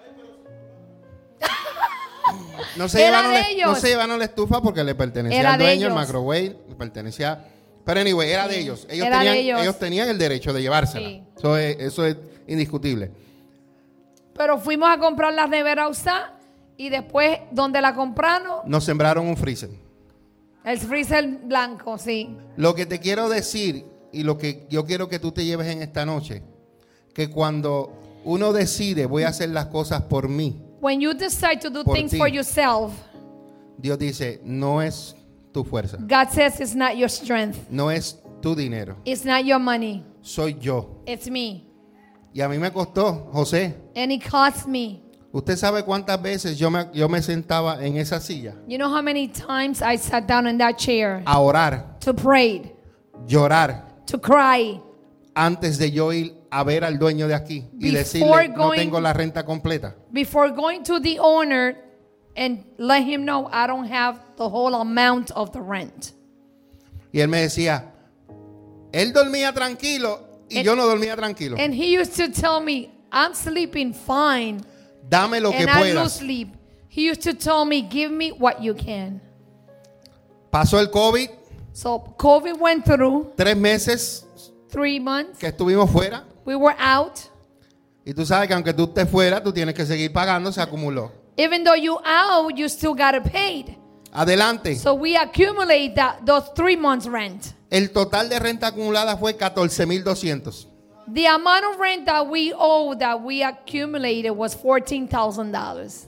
[SPEAKER 2] No se,
[SPEAKER 3] Era
[SPEAKER 2] llevaron
[SPEAKER 3] de
[SPEAKER 2] la,
[SPEAKER 3] ellos.
[SPEAKER 2] no se llevaron la estufa porque le pertenecía
[SPEAKER 3] Era
[SPEAKER 2] al
[SPEAKER 3] de
[SPEAKER 2] dueño, el
[SPEAKER 3] ellos.
[SPEAKER 2] microwave, le pertenecía. Pero anyway, era de ellos. Ellos,
[SPEAKER 3] Era de
[SPEAKER 2] tenían,
[SPEAKER 3] ellos.
[SPEAKER 2] ellos tenían el derecho de llevársela.
[SPEAKER 3] Sí.
[SPEAKER 2] Eso, es, eso es indiscutible.
[SPEAKER 3] Pero fuimos a comprar la nevera usada y después donde la compraron,
[SPEAKER 2] Nos sembraron un freezer.
[SPEAKER 3] el freezer blanco, sí.
[SPEAKER 2] Lo que te quiero decir y lo que yo quiero que tú te lleves en esta noche, que cuando uno decide voy a hacer las cosas por mí,
[SPEAKER 3] When you decide to do
[SPEAKER 2] Por
[SPEAKER 3] things
[SPEAKER 2] ti.
[SPEAKER 3] for yourself,
[SPEAKER 2] Dios dice, no es tu fuerza,
[SPEAKER 3] God says it's not your strength.
[SPEAKER 2] no es tu dinero,
[SPEAKER 3] It's not your money.
[SPEAKER 2] soy yo.
[SPEAKER 3] It's me.
[SPEAKER 2] Y a mí me costó, José.
[SPEAKER 3] And it cost me.
[SPEAKER 2] ¿Usted sabe cuántas veces yo me, yo me sentaba en esa silla
[SPEAKER 3] You know how many times I sat down in that chair
[SPEAKER 2] a orar,
[SPEAKER 3] to pray,
[SPEAKER 2] llorar,
[SPEAKER 3] to cry,
[SPEAKER 2] antes de yo ir a ver al dueño de aquí y
[SPEAKER 3] Before
[SPEAKER 2] decirle, no
[SPEAKER 3] going-
[SPEAKER 2] tengo la renta completa?
[SPEAKER 3] before going to the owner and let him know I don't have the whole amount of the rent.
[SPEAKER 2] Y él me decía, él dormía tranquilo y
[SPEAKER 3] And-
[SPEAKER 2] yo no dormía tranquilo.
[SPEAKER 3] And he used to tell me, I'm sleeping fine.
[SPEAKER 2] Dame lo que
[SPEAKER 3] And I lose
[SPEAKER 2] puedas.
[SPEAKER 3] sleep. He used to tell me, give me what you can.
[SPEAKER 2] Pasó el COVID,
[SPEAKER 3] So COVID went through
[SPEAKER 2] Tres meses
[SPEAKER 3] three months.
[SPEAKER 2] que estuvimos fuera.
[SPEAKER 3] We were out.
[SPEAKER 2] Y tú sabes que aunque tú estés fuera, tú tienes que seguir pagando, se acumuló.
[SPEAKER 3] Even though you out, you still got it paid.
[SPEAKER 2] Adelante.
[SPEAKER 3] So we accumulate that those three months rent.
[SPEAKER 2] El total de renta acumulada fue catorce mil doscientos.
[SPEAKER 3] The amount of rent that we owe that we accumulated was fourteen thousand dollars.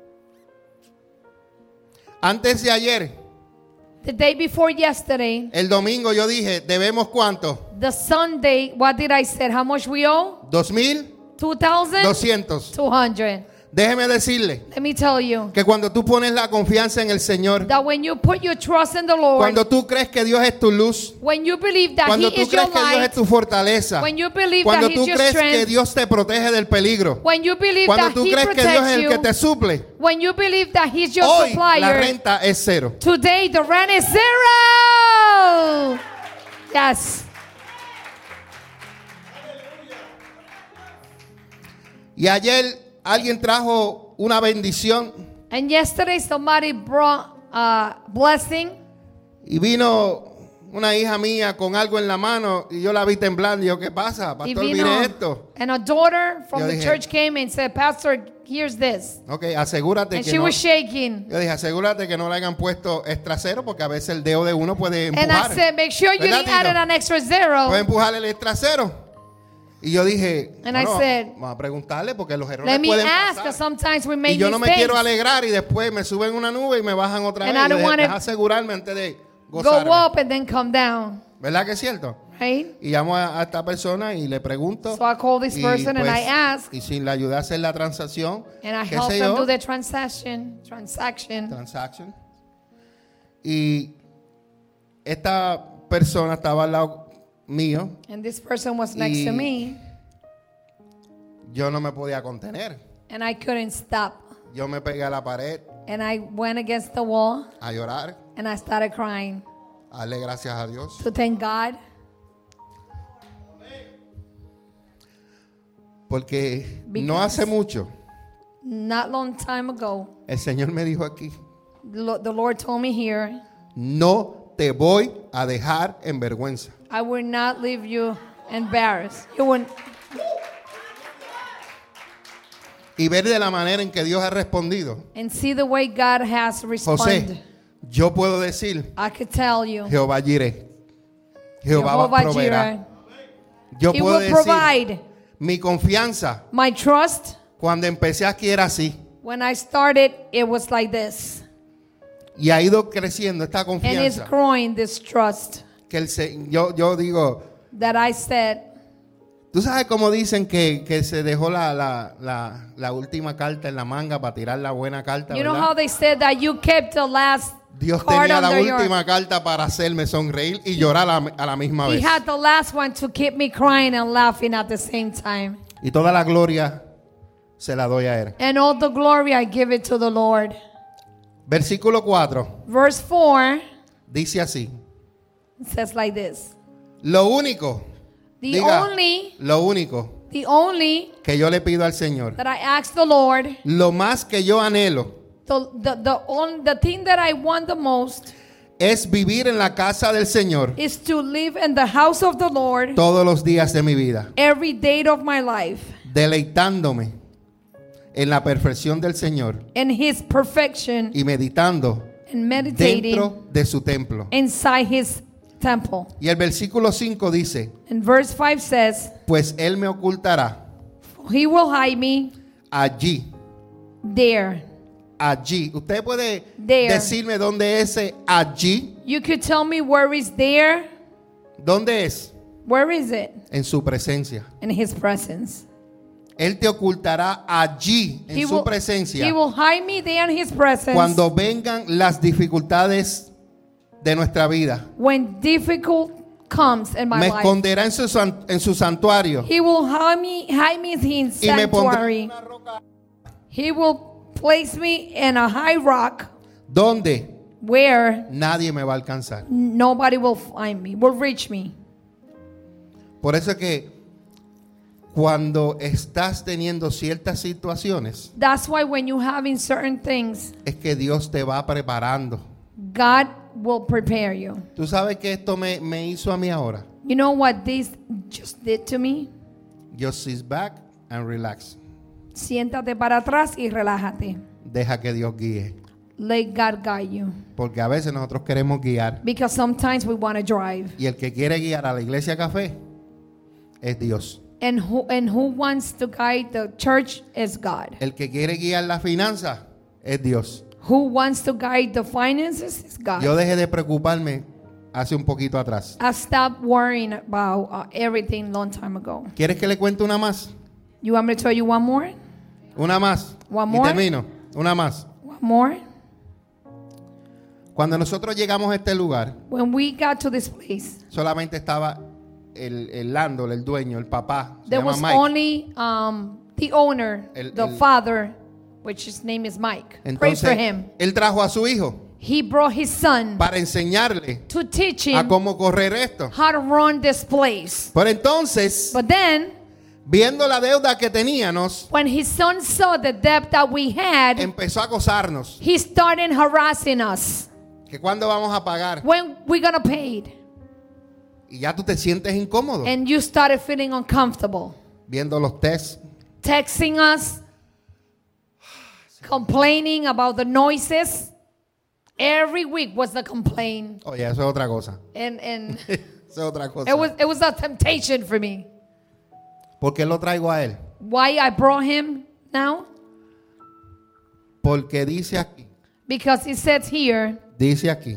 [SPEAKER 2] Antes de ayer,
[SPEAKER 3] The day before yesterday,
[SPEAKER 2] el domingo, yo dije, ¿debemos cuánto?
[SPEAKER 3] the Sunday, what did I say? How much we owe?
[SPEAKER 2] Dos mil
[SPEAKER 3] two thousand
[SPEAKER 2] doscientos.
[SPEAKER 3] two hundred.
[SPEAKER 2] Déjeme decirle
[SPEAKER 3] Let me tell you
[SPEAKER 2] que cuando tú pones la confianza en el Señor,
[SPEAKER 3] that when you put your trust in the Lord,
[SPEAKER 2] cuando tú crees que Dios es tu luz,
[SPEAKER 3] when you believe that
[SPEAKER 2] cuando
[SPEAKER 3] He
[SPEAKER 2] tú
[SPEAKER 3] is your
[SPEAKER 2] crees que Dios es
[SPEAKER 3] light,
[SPEAKER 2] tu fortaleza,
[SPEAKER 3] when you believe
[SPEAKER 2] cuando
[SPEAKER 3] that
[SPEAKER 2] tú
[SPEAKER 3] He's your
[SPEAKER 2] crees que
[SPEAKER 3] strength,
[SPEAKER 2] Dios te protege del peligro,
[SPEAKER 3] when you believe
[SPEAKER 2] cuando
[SPEAKER 3] that
[SPEAKER 2] tú
[SPEAKER 3] He
[SPEAKER 2] crees que Dios es
[SPEAKER 3] protects
[SPEAKER 2] el que te
[SPEAKER 3] you,
[SPEAKER 2] suple,
[SPEAKER 3] when you believe that He's your
[SPEAKER 2] hoy la
[SPEAKER 3] supplier,
[SPEAKER 2] renta es cero.
[SPEAKER 3] today the rent is zero. Yes.
[SPEAKER 2] Y ayer alguien trajo una bendición
[SPEAKER 3] And yesterday somebody brought a blessing,
[SPEAKER 2] y vino una hija mía con algo en la mano y yo la vi temblando y yo, ¿qué pasa?
[SPEAKER 3] y
[SPEAKER 2] Pastor,
[SPEAKER 3] vino,
[SPEAKER 2] mire esto.
[SPEAKER 3] and a daughter from
[SPEAKER 2] Yo
[SPEAKER 3] the
[SPEAKER 2] dije-
[SPEAKER 3] church came and said, Pastor, here's this.
[SPEAKER 2] Ok, asegúrate
[SPEAKER 3] And
[SPEAKER 2] que
[SPEAKER 3] she
[SPEAKER 2] no.
[SPEAKER 3] was shaking.
[SPEAKER 2] Yo dije, asegúrate que no le hayan puesto extra cero porque a veces el dedo de uno puede
[SPEAKER 3] And
[SPEAKER 2] empujar.
[SPEAKER 3] I said, make sure you
[SPEAKER 2] ¿Verdad,
[SPEAKER 3] didn't add
[SPEAKER 2] Tito?
[SPEAKER 3] an extra zero.
[SPEAKER 2] Puede empujar el extra cero. Y yo dije,
[SPEAKER 3] And I
[SPEAKER 2] bueno,
[SPEAKER 3] said,
[SPEAKER 2] vamos a preguntarle porque los errores
[SPEAKER 3] Let me
[SPEAKER 2] pueden
[SPEAKER 3] ask,
[SPEAKER 2] pasar.
[SPEAKER 3] because sometimes we
[SPEAKER 2] Y
[SPEAKER 3] make
[SPEAKER 2] yo no me
[SPEAKER 3] mistakes.
[SPEAKER 2] quiero alegrar y después me suben una nube y me bajan otra
[SPEAKER 3] And
[SPEAKER 2] vez.
[SPEAKER 3] I
[SPEAKER 2] Yo
[SPEAKER 3] don't
[SPEAKER 2] dije,
[SPEAKER 3] wanna
[SPEAKER 2] deja asegurarme antes de
[SPEAKER 3] Go
[SPEAKER 2] gozarme.
[SPEAKER 3] up and then come down,
[SPEAKER 2] ¿Verdad que es cierto?
[SPEAKER 3] right?
[SPEAKER 2] Y llamo a, a esta persona y le pregunto.
[SPEAKER 3] So I call this
[SPEAKER 2] y,
[SPEAKER 3] person and
[SPEAKER 2] pues,
[SPEAKER 3] I ask,
[SPEAKER 2] y si le ayudé a hacer la transacción,
[SPEAKER 3] and I
[SPEAKER 2] qué
[SPEAKER 3] help
[SPEAKER 2] sé
[SPEAKER 3] them
[SPEAKER 2] yo,
[SPEAKER 3] do the transaction, transaction.
[SPEAKER 2] transaction. Y esta persona estaba al lado mío.
[SPEAKER 3] And this person was next
[SPEAKER 2] Y-
[SPEAKER 3] to me,
[SPEAKER 2] Yo no me podía contener.
[SPEAKER 3] and I couldn't stop.
[SPEAKER 2] Yo me pegué a la pared
[SPEAKER 3] And I went against the wall,
[SPEAKER 2] a llorar,
[SPEAKER 3] and I started crying
[SPEAKER 2] a darle gracias a Dios.
[SPEAKER 3] to thank God.
[SPEAKER 2] Porque no
[SPEAKER 3] Because-
[SPEAKER 2] hace mucho
[SPEAKER 3] Not long time ago,
[SPEAKER 2] el Señor me dijo aquí,
[SPEAKER 3] the Lo- the Lord told me here,
[SPEAKER 2] no te voy a dejar en vergüenza.
[SPEAKER 3] I will not leave you embarrassed. You wouldn't.
[SPEAKER 2] Y ver de la manera en que Dios ha respondido.
[SPEAKER 3] And see the way God has responded.
[SPEAKER 2] José, yo puedo decir,
[SPEAKER 3] I could tell you,
[SPEAKER 2] Jehová Jireh. Jehová
[SPEAKER 3] Jehovah
[SPEAKER 2] proveerá.
[SPEAKER 3] Jireh,
[SPEAKER 2] Yo
[SPEAKER 3] He
[SPEAKER 2] puedo
[SPEAKER 3] will
[SPEAKER 2] decir,
[SPEAKER 3] provide.
[SPEAKER 2] mi confianza
[SPEAKER 3] My trust,
[SPEAKER 2] cuando empecé aquí era así.
[SPEAKER 3] when I started, it was like this.
[SPEAKER 2] Y ha ido creciendo esta
[SPEAKER 3] And it's
[SPEAKER 2] confianza.
[SPEAKER 3] growing, this trust
[SPEAKER 2] Que el, se- yo, yo digo,
[SPEAKER 3] that I said,
[SPEAKER 2] tú sabes cómo dicen que, que se dejó la, la, la, la última carta en la manga para tirar la buena carta,
[SPEAKER 3] you know
[SPEAKER 2] ¿verdad?
[SPEAKER 3] how they said that you kept the last
[SPEAKER 2] Dios
[SPEAKER 3] card
[SPEAKER 2] tenía la
[SPEAKER 3] under your...
[SPEAKER 2] última carta para hacerme sonreír y llorar a, la- a la misma
[SPEAKER 3] He
[SPEAKER 2] vez.
[SPEAKER 3] had the last one to keep me crying and laughing at the same time.
[SPEAKER 2] Y toda la gloria se la doy a Él.
[SPEAKER 3] And all the glory I give it to the Lord.
[SPEAKER 2] Versículo cuatro
[SPEAKER 3] Verse four
[SPEAKER 2] dice así.
[SPEAKER 3] says like this.
[SPEAKER 2] Lo único,
[SPEAKER 3] The
[SPEAKER 2] diga,
[SPEAKER 3] only,
[SPEAKER 2] lo único
[SPEAKER 3] the only
[SPEAKER 2] que yo le pido al Señor,
[SPEAKER 3] that I ask the Lord,
[SPEAKER 2] lo más que yo anhelo,
[SPEAKER 3] the, the, the, on, the thing that I want the most
[SPEAKER 2] es vivir en la casa del Señor
[SPEAKER 3] is to live in the house of the Lord
[SPEAKER 2] todos los días de mi vida,
[SPEAKER 3] every day of my life,
[SPEAKER 2] deleitándome en la perfección del Señor
[SPEAKER 3] in His perfection,
[SPEAKER 2] y meditando
[SPEAKER 3] and meditating
[SPEAKER 2] dentro de su templo.
[SPEAKER 3] inside His temple.
[SPEAKER 2] Y el versículo cinco dice,
[SPEAKER 3] And verse five says,
[SPEAKER 2] pues Él me ocultará
[SPEAKER 3] He will hide me
[SPEAKER 2] allí,
[SPEAKER 3] there.
[SPEAKER 2] allí. ¿Usted puede
[SPEAKER 3] There.
[SPEAKER 2] decirme dónde es ese allí?
[SPEAKER 3] You could tell me where is there?
[SPEAKER 2] ¿Dónde es?
[SPEAKER 3] Where is it?
[SPEAKER 2] En su presencia.
[SPEAKER 3] In His presence.
[SPEAKER 2] Él te ocultará allí, en
[SPEAKER 3] He
[SPEAKER 2] su
[SPEAKER 3] will,
[SPEAKER 2] presencia,
[SPEAKER 3] he will hide me there in His presence.
[SPEAKER 2] cuando vengan las dificultades de nuestra vida.
[SPEAKER 3] When difficult comes in my
[SPEAKER 2] Me
[SPEAKER 3] life,
[SPEAKER 2] esconderá en su, san- en su santuario
[SPEAKER 3] He will hide me, hide me in His
[SPEAKER 2] y me pondrá
[SPEAKER 3] sanctuary.
[SPEAKER 2] en una roca
[SPEAKER 3] He will place me in a high rock
[SPEAKER 2] donde
[SPEAKER 3] where
[SPEAKER 2] nadie me va a alcanzar.
[SPEAKER 3] nobody will find me, will reach me.
[SPEAKER 2] Por eso es que cuando estás teniendo ciertas situaciones,
[SPEAKER 3] That's why when you having certain things,
[SPEAKER 2] es que Dios te va preparando
[SPEAKER 3] God will prepare you.
[SPEAKER 2] ¿Tú sabes que esto me, me hizo a mí ahora?
[SPEAKER 3] You know what this just did to me?
[SPEAKER 2] Just sit back and relax.
[SPEAKER 3] Siéntate para atrás y relájate.
[SPEAKER 2] Deja que Dios guíe.
[SPEAKER 3] Let God guide you.
[SPEAKER 2] Porque a veces nosotros queremos guiar.
[SPEAKER 3] Because sometimes we want to drive.
[SPEAKER 2] Y el que quiere guiar a la iglesia café es Dios.
[SPEAKER 3] And who, and who wants to guide the church is God.
[SPEAKER 2] El que quiere guiar la finanza es Dios.
[SPEAKER 3] Who wants to guide the finances is God.
[SPEAKER 2] Yo dejé de preocuparme hace un poquito atrás.
[SPEAKER 3] I stopped worrying about uh, everything long time ago.
[SPEAKER 2] ¿Quieres que le cuente una más?
[SPEAKER 3] You want me to tell you one more?
[SPEAKER 2] Una más.
[SPEAKER 3] One
[SPEAKER 2] Y
[SPEAKER 3] more?
[SPEAKER 2] termino. Una más.
[SPEAKER 3] One more?
[SPEAKER 2] Cuando nosotros llegamos a este lugar,
[SPEAKER 3] When we got to this place,
[SPEAKER 2] solamente estaba el, el landlord, el dueño, el papá. Se
[SPEAKER 3] there
[SPEAKER 2] llama
[SPEAKER 3] was
[SPEAKER 2] Mike.
[SPEAKER 3] only um, the owner,
[SPEAKER 2] El-
[SPEAKER 3] the
[SPEAKER 2] el-
[SPEAKER 3] father, which his name is Mike. Pray for
[SPEAKER 2] Entonces,
[SPEAKER 3] him.
[SPEAKER 2] él trajo a su hijo
[SPEAKER 3] He brought his son
[SPEAKER 2] para enseñarle
[SPEAKER 3] to teach
[SPEAKER 2] a
[SPEAKER 3] him
[SPEAKER 2] cómo correr esto.
[SPEAKER 3] how to run this place.
[SPEAKER 2] Pero entonces,
[SPEAKER 3] But then,
[SPEAKER 2] viendo la deuda que teníamos,
[SPEAKER 3] when his son saw the debt that we had,
[SPEAKER 2] empezó a acosarnos.
[SPEAKER 3] he started harassing us.
[SPEAKER 2] Que cuándo vamos a pagar.
[SPEAKER 3] When we gonna pay it?
[SPEAKER 2] Y ya tú te sientes incómodo
[SPEAKER 3] And you started feeling uncomfortable.
[SPEAKER 2] viendo los tests.
[SPEAKER 3] Texting us, complaining about the noises. Every week was the complaint.
[SPEAKER 2] Oye, eso es otra cosa.
[SPEAKER 3] And and
[SPEAKER 2] Eso es otra cosa.
[SPEAKER 3] it was it was a temptation for me.
[SPEAKER 2] ¿Por qué lo traigo a él?
[SPEAKER 3] Why I brought him now?
[SPEAKER 2] Porque dice aquí,
[SPEAKER 3] Because it says here,
[SPEAKER 2] dice aquí,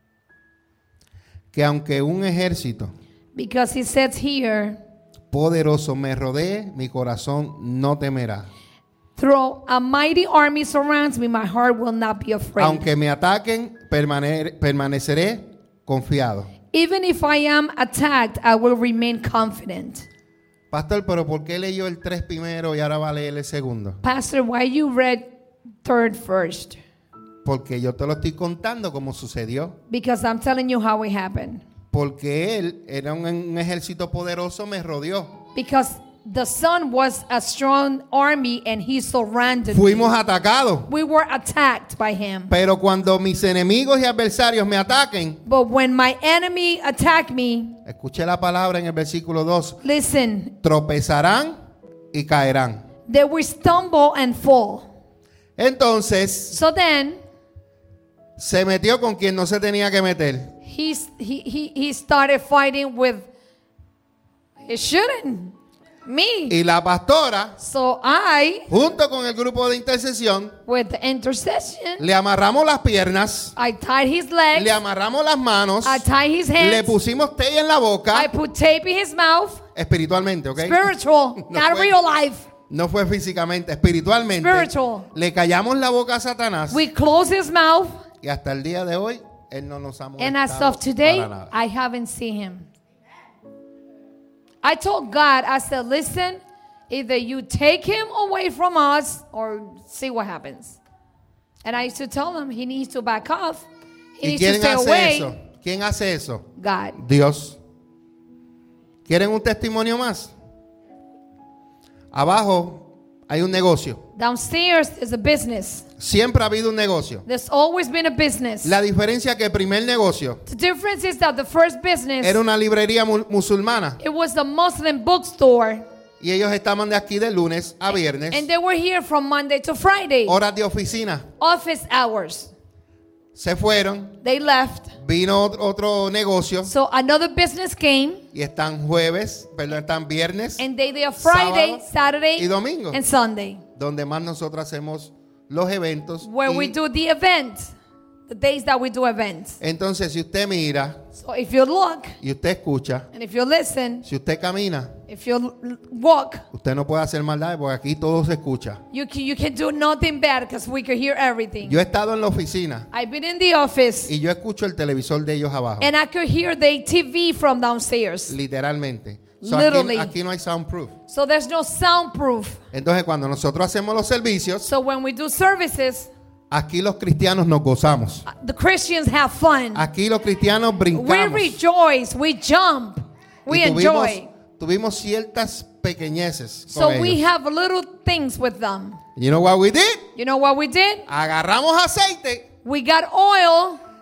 [SPEAKER 2] que aunque un ejército
[SPEAKER 3] because it says here,
[SPEAKER 2] poderoso me rodee, mi corazón no temerá.
[SPEAKER 3] though a mighty army surrounds me, my heart will not be afraid.
[SPEAKER 2] Aunque me ataquen, permane- permaneceré confiado.
[SPEAKER 3] Even if I am attacked, I will remain confident.
[SPEAKER 2] Pastor, pero ¿por qué leyó el tres primero y ahora va a leer el segundo?
[SPEAKER 3] Pastor, why you read third first?
[SPEAKER 2] Porque yo te lo estoy contando como sucedió.
[SPEAKER 3] Because I'm telling you how it happened.
[SPEAKER 2] Porque él era un, un ejército poderoso, me rodeó.
[SPEAKER 3] Because the son was a strong army and he surrounded me.
[SPEAKER 2] Fuimos atacados.
[SPEAKER 3] We were attacked by him.
[SPEAKER 2] Pero cuando mis enemigos y adversarios me ataquen,
[SPEAKER 3] But when my enemy attacked me,
[SPEAKER 2] escuché la palabra en el versículo dos,
[SPEAKER 3] listen,
[SPEAKER 2] tropezarán y caerán.
[SPEAKER 3] they will stumble and fall.
[SPEAKER 2] Entonces,
[SPEAKER 3] So then,
[SPEAKER 2] se metió con quien no se tenía que meter.
[SPEAKER 3] he's, he, he, he started fighting with, he shouldn't, me.
[SPEAKER 2] Y la pastora,
[SPEAKER 3] So I,
[SPEAKER 2] junto con el grupo de intercesión,
[SPEAKER 3] with the intercession,
[SPEAKER 2] le amarramos las piernas,
[SPEAKER 3] I tied his legs,
[SPEAKER 2] le amarramos las manos,
[SPEAKER 3] I tied his
[SPEAKER 2] le
[SPEAKER 3] hands,
[SPEAKER 2] pusimos té en la boca,
[SPEAKER 3] I put tape in his mouth.
[SPEAKER 2] espiritualmente, ¿ok?
[SPEAKER 3] Spiritual,
[SPEAKER 2] No
[SPEAKER 3] not
[SPEAKER 2] fue-
[SPEAKER 3] real life.
[SPEAKER 2] No fue físicamente, espiritualmente.
[SPEAKER 3] Spiritual.
[SPEAKER 2] Le callamos la boca a Satanás
[SPEAKER 3] We close his mouth,
[SPEAKER 2] y hasta el día de hoy él no nos ha molestado
[SPEAKER 3] and as of today,
[SPEAKER 2] para nada.
[SPEAKER 3] I haven't seen him. I told God, I said, listen, either you take him away from us or see what happens. And I used to tell him he needs to back off. He
[SPEAKER 2] ¿Y
[SPEAKER 3] needs to
[SPEAKER 2] quién
[SPEAKER 3] stay
[SPEAKER 2] hace
[SPEAKER 3] away.
[SPEAKER 2] eso? ¿Quién hace eso?
[SPEAKER 3] God.
[SPEAKER 2] Dios. ¿Quieren un testimonio más? Abajo hay un negocio.
[SPEAKER 3] Downstairs is a business.
[SPEAKER 2] Siempre ha habido un negocio.
[SPEAKER 3] There's always been a business.
[SPEAKER 2] La diferencia que el primer negocio
[SPEAKER 3] The difference is that the first business,
[SPEAKER 2] era una librería mu- musulmana
[SPEAKER 3] it was the Muslim bookstore.
[SPEAKER 2] y ellos estaban de aquí de lunes a viernes,
[SPEAKER 3] And they were here from Monday to Friday.
[SPEAKER 2] horas de oficina.
[SPEAKER 3] Office hours.
[SPEAKER 2] Se fueron,
[SPEAKER 3] They left.
[SPEAKER 2] vino ot- otro negocio
[SPEAKER 3] So another business came,
[SPEAKER 2] y están jueves, perdón, están viernes,
[SPEAKER 3] and they there Friday,
[SPEAKER 2] Sábado
[SPEAKER 3] Saturday,
[SPEAKER 2] y domingo.
[SPEAKER 3] and Sunday,
[SPEAKER 2] donde más nosotros hacemos los eventos.
[SPEAKER 3] where
[SPEAKER 2] y
[SPEAKER 3] we do the event, the days that we do events.
[SPEAKER 2] entonces, si usted mira
[SPEAKER 3] So if you look
[SPEAKER 2] y usted escucha,
[SPEAKER 3] and if you listen,
[SPEAKER 2] si usted camina,
[SPEAKER 3] if you l- walk,
[SPEAKER 2] usted no puede hacer maldad porque aquí todo se escucha.
[SPEAKER 3] you can, you can do nothing bad because we can hear everything.
[SPEAKER 2] Yo he estado en la oficina
[SPEAKER 3] I've been in the office
[SPEAKER 2] y yo escucho el televisor de ellos abajo,
[SPEAKER 3] and I could hear the T V from downstairs.
[SPEAKER 2] literalmente. So, aquí,
[SPEAKER 3] Literally.
[SPEAKER 2] aquí no hay soundproof.
[SPEAKER 3] So there's no soundproof.
[SPEAKER 2] Entonces, cuando nosotros hacemos los servicios,
[SPEAKER 3] So when we do services,
[SPEAKER 2] aquí los cristianos nos gozamos.
[SPEAKER 3] the Christians have fun.
[SPEAKER 2] Aquí los cristianos
[SPEAKER 3] We
[SPEAKER 2] brincamos.
[SPEAKER 3] rejoice, we jump, we
[SPEAKER 2] Y tuvimos,
[SPEAKER 3] enjoy.
[SPEAKER 2] tuvimos ciertas pequeñeces con
[SPEAKER 3] So we
[SPEAKER 2] ellos.
[SPEAKER 3] have little things with them.
[SPEAKER 2] You know what we did?
[SPEAKER 3] You know what we did?
[SPEAKER 2] Agarramos aceite
[SPEAKER 3] We got oil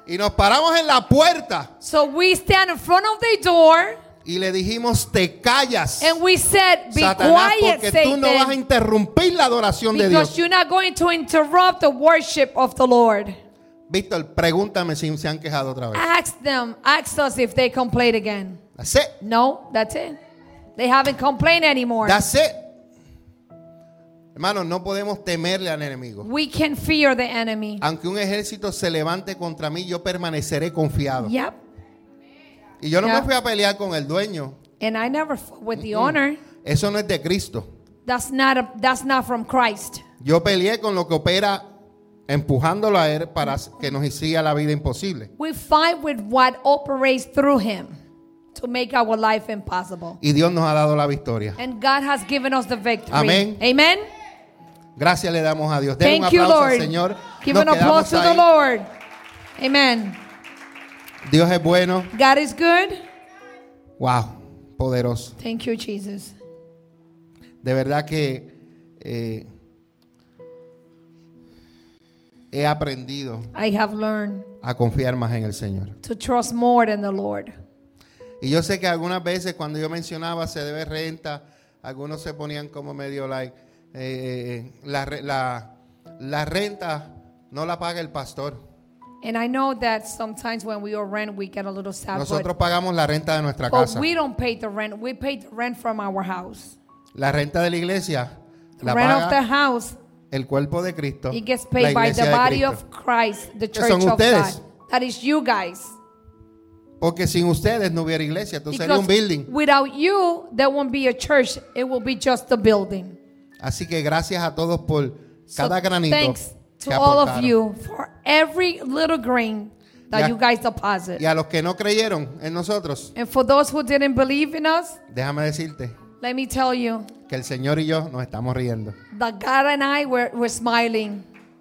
[SPEAKER 2] Y nos paramos en la puerta
[SPEAKER 3] So we stand in front of the door
[SPEAKER 2] y le dijimos, te callas,
[SPEAKER 3] and we said, be
[SPEAKER 2] Satanás,
[SPEAKER 3] quiet,
[SPEAKER 2] porque tú no vas a
[SPEAKER 3] Satan,
[SPEAKER 2] interrumpir la adoración de
[SPEAKER 3] because
[SPEAKER 2] Dios.
[SPEAKER 3] you're not going to interrupt the worship of the Lord.
[SPEAKER 2] Víctor, pregúntame si se han quejado otra vez.
[SPEAKER 3] Ask them, ask us if they complain again.
[SPEAKER 2] That's it.
[SPEAKER 3] No, that's it. They haven't complained anymore.
[SPEAKER 2] That's it. Hermanos, no podemos temerle al enemigo.
[SPEAKER 3] We can fear the enemy.
[SPEAKER 2] Aunque un ejército se levante contra mí, yo permaneceré confiado.
[SPEAKER 3] Yep.
[SPEAKER 2] Y yo no
[SPEAKER 3] Yeah.
[SPEAKER 2] me fui a pelear con el dueño.
[SPEAKER 3] And I never fought with the owner.
[SPEAKER 2] Eso no es de Cristo.
[SPEAKER 3] That's not a, that's not from Christ.
[SPEAKER 2] Yo peleé con lo que opera empujándolo a él para que nos hiciera la vida imposible.
[SPEAKER 3] We fight with what operates through him to make our life impossible.
[SPEAKER 2] Y Dios nos ha dado la victoria.
[SPEAKER 3] And God has given us the victory.
[SPEAKER 2] Amén.
[SPEAKER 3] Amen.
[SPEAKER 2] Gracias le damos a Dios. Den un
[SPEAKER 3] Thank you,
[SPEAKER 2] aplauso
[SPEAKER 3] Lord.
[SPEAKER 2] al Señor.
[SPEAKER 3] Give
[SPEAKER 2] Nos
[SPEAKER 3] an applause
[SPEAKER 2] quedamos
[SPEAKER 3] to the
[SPEAKER 2] ahí.
[SPEAKER 3] Lord. Amen.
[SPEAKER 2] Dios es bueno.
[SPEAKER 3] God is good.
[SPEAKER 2] Wow, poderoso.
[SPEAKER 3] Thank you, Jesus.
[SPEAKER 2] De verdad que eh, he aprendido
[SPEAKER 3] I have learned
[SPEAKER 2] a confiar más en el Señor.
[SPEAKER 3] to trust more than the Lord.
[SPEAKER 2] Y yo sé que algunas veces cuando yo mencionaba se debe renta, algunos se ponían como medio like, eh, la, re- la, la renta no la paga el pastor.
[SPEAKER 3] And I know that sometimes when we are rent, we get a little sad.
[SPEAKER 2] Nosotros
[SPEAKER 3] But,
[SPEAKER 2] pagamos la renta de nuestra
[SPEAKER 3] but
[SPEAKER 2] casa.
[SPEAKER 3] we don't pay the rent. We pay the rent from our house.
[SPEAKER 2] La renta de la iglesia
[SPEAKER 3] The
[SPEAKER 2] la
[SPEAKER 3] rent of the
[SPEAKER 2] paga
[SPEAKER 3] house,
[SPEAKER 2] el cuerpo de Cristo,
[SPEAKER 3] it gets
[SPEAKER 2] la
[SPEAKER 3] paid by the
[SPEAKER 2] iglesia de
[SPEAKER 3] body
[SPEAKER 2] Cristo.
[SPEAKER 3] of Christ, the
[SPEAKER 2] Que
[SPEAKER 3] church
[SPEAKER 2] son
[SPEAKER 3] of
[SPEAKER 2] ustedes.
[SPEAKER 3] God. That is you guys.
[SPEAKER 2] Porque sin ustedes no hubiera iglesia, tú serías un
[SPEAKER 3] Because
[SPEAKER 2] building.
[SPEAKER 3] without you, there won't be a church. It will be just a building.
[SPEAKER 2] Así que gracias a todos por cada
[SPEAKER 3] So
[SPEAKER 2] granito
[SPEAKER 3] thanks to
[SPEAKER 2] que
[SPEAKER 3] all of
[SPEAKER 2] aportaron.
[SPEAKER 3] you for every little grain that
[SPEAKER 2] Y a-
[SPEAKER 3] you guys deposit.
[SPEAKER 2] Y a los que no creyeron en nosotros,
[SPEAKER 3] And for those who didn't believe in us,
[SPEAKER 2] déjame decirte
[SPEAKER 3] let me tell you
[SPEAKER 2] que el Señor y yo nos estamos riendo.
[SPEAKER 3] that God and I were, were smiling.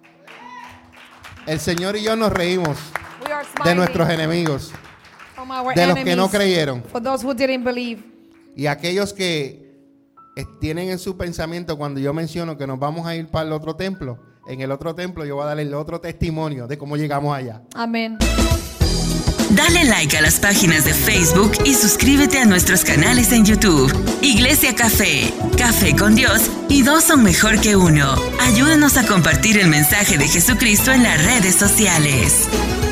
[SPEAKER 2] El Señor y yo nos reímos
[SPEAKER 3] We are
[SPEAKER 2] de
[SPEAKER 3] smiling
[SPEAKER 2] nuestros enemigos,
[SPEAKER 3] from our
[SPEAKER 2] de los
[SPEAKER 3] enemies.
[SPEAKER 2] que no creyeron.
[SPEAKER 3] For those who didn't believe.
[SPEAKER 2] Y aquellos que eh, tienen en su pensamiento cuando yo menciono que nos vamos a ir para el otro templo, en el otro templo yo voy a darle el otro testimonio de cómo llegamos allá.
[SPEAKER 3] Amen.
[SPEAKER 1] Dale like a las páginas de Facebook y suscríbete a nuestros canales en YouTube. Iglesia Café, Café con Dios y dos son mejor que uno. Ayúdanos a compartir el mensaje de Jesucristo en las redes sociales.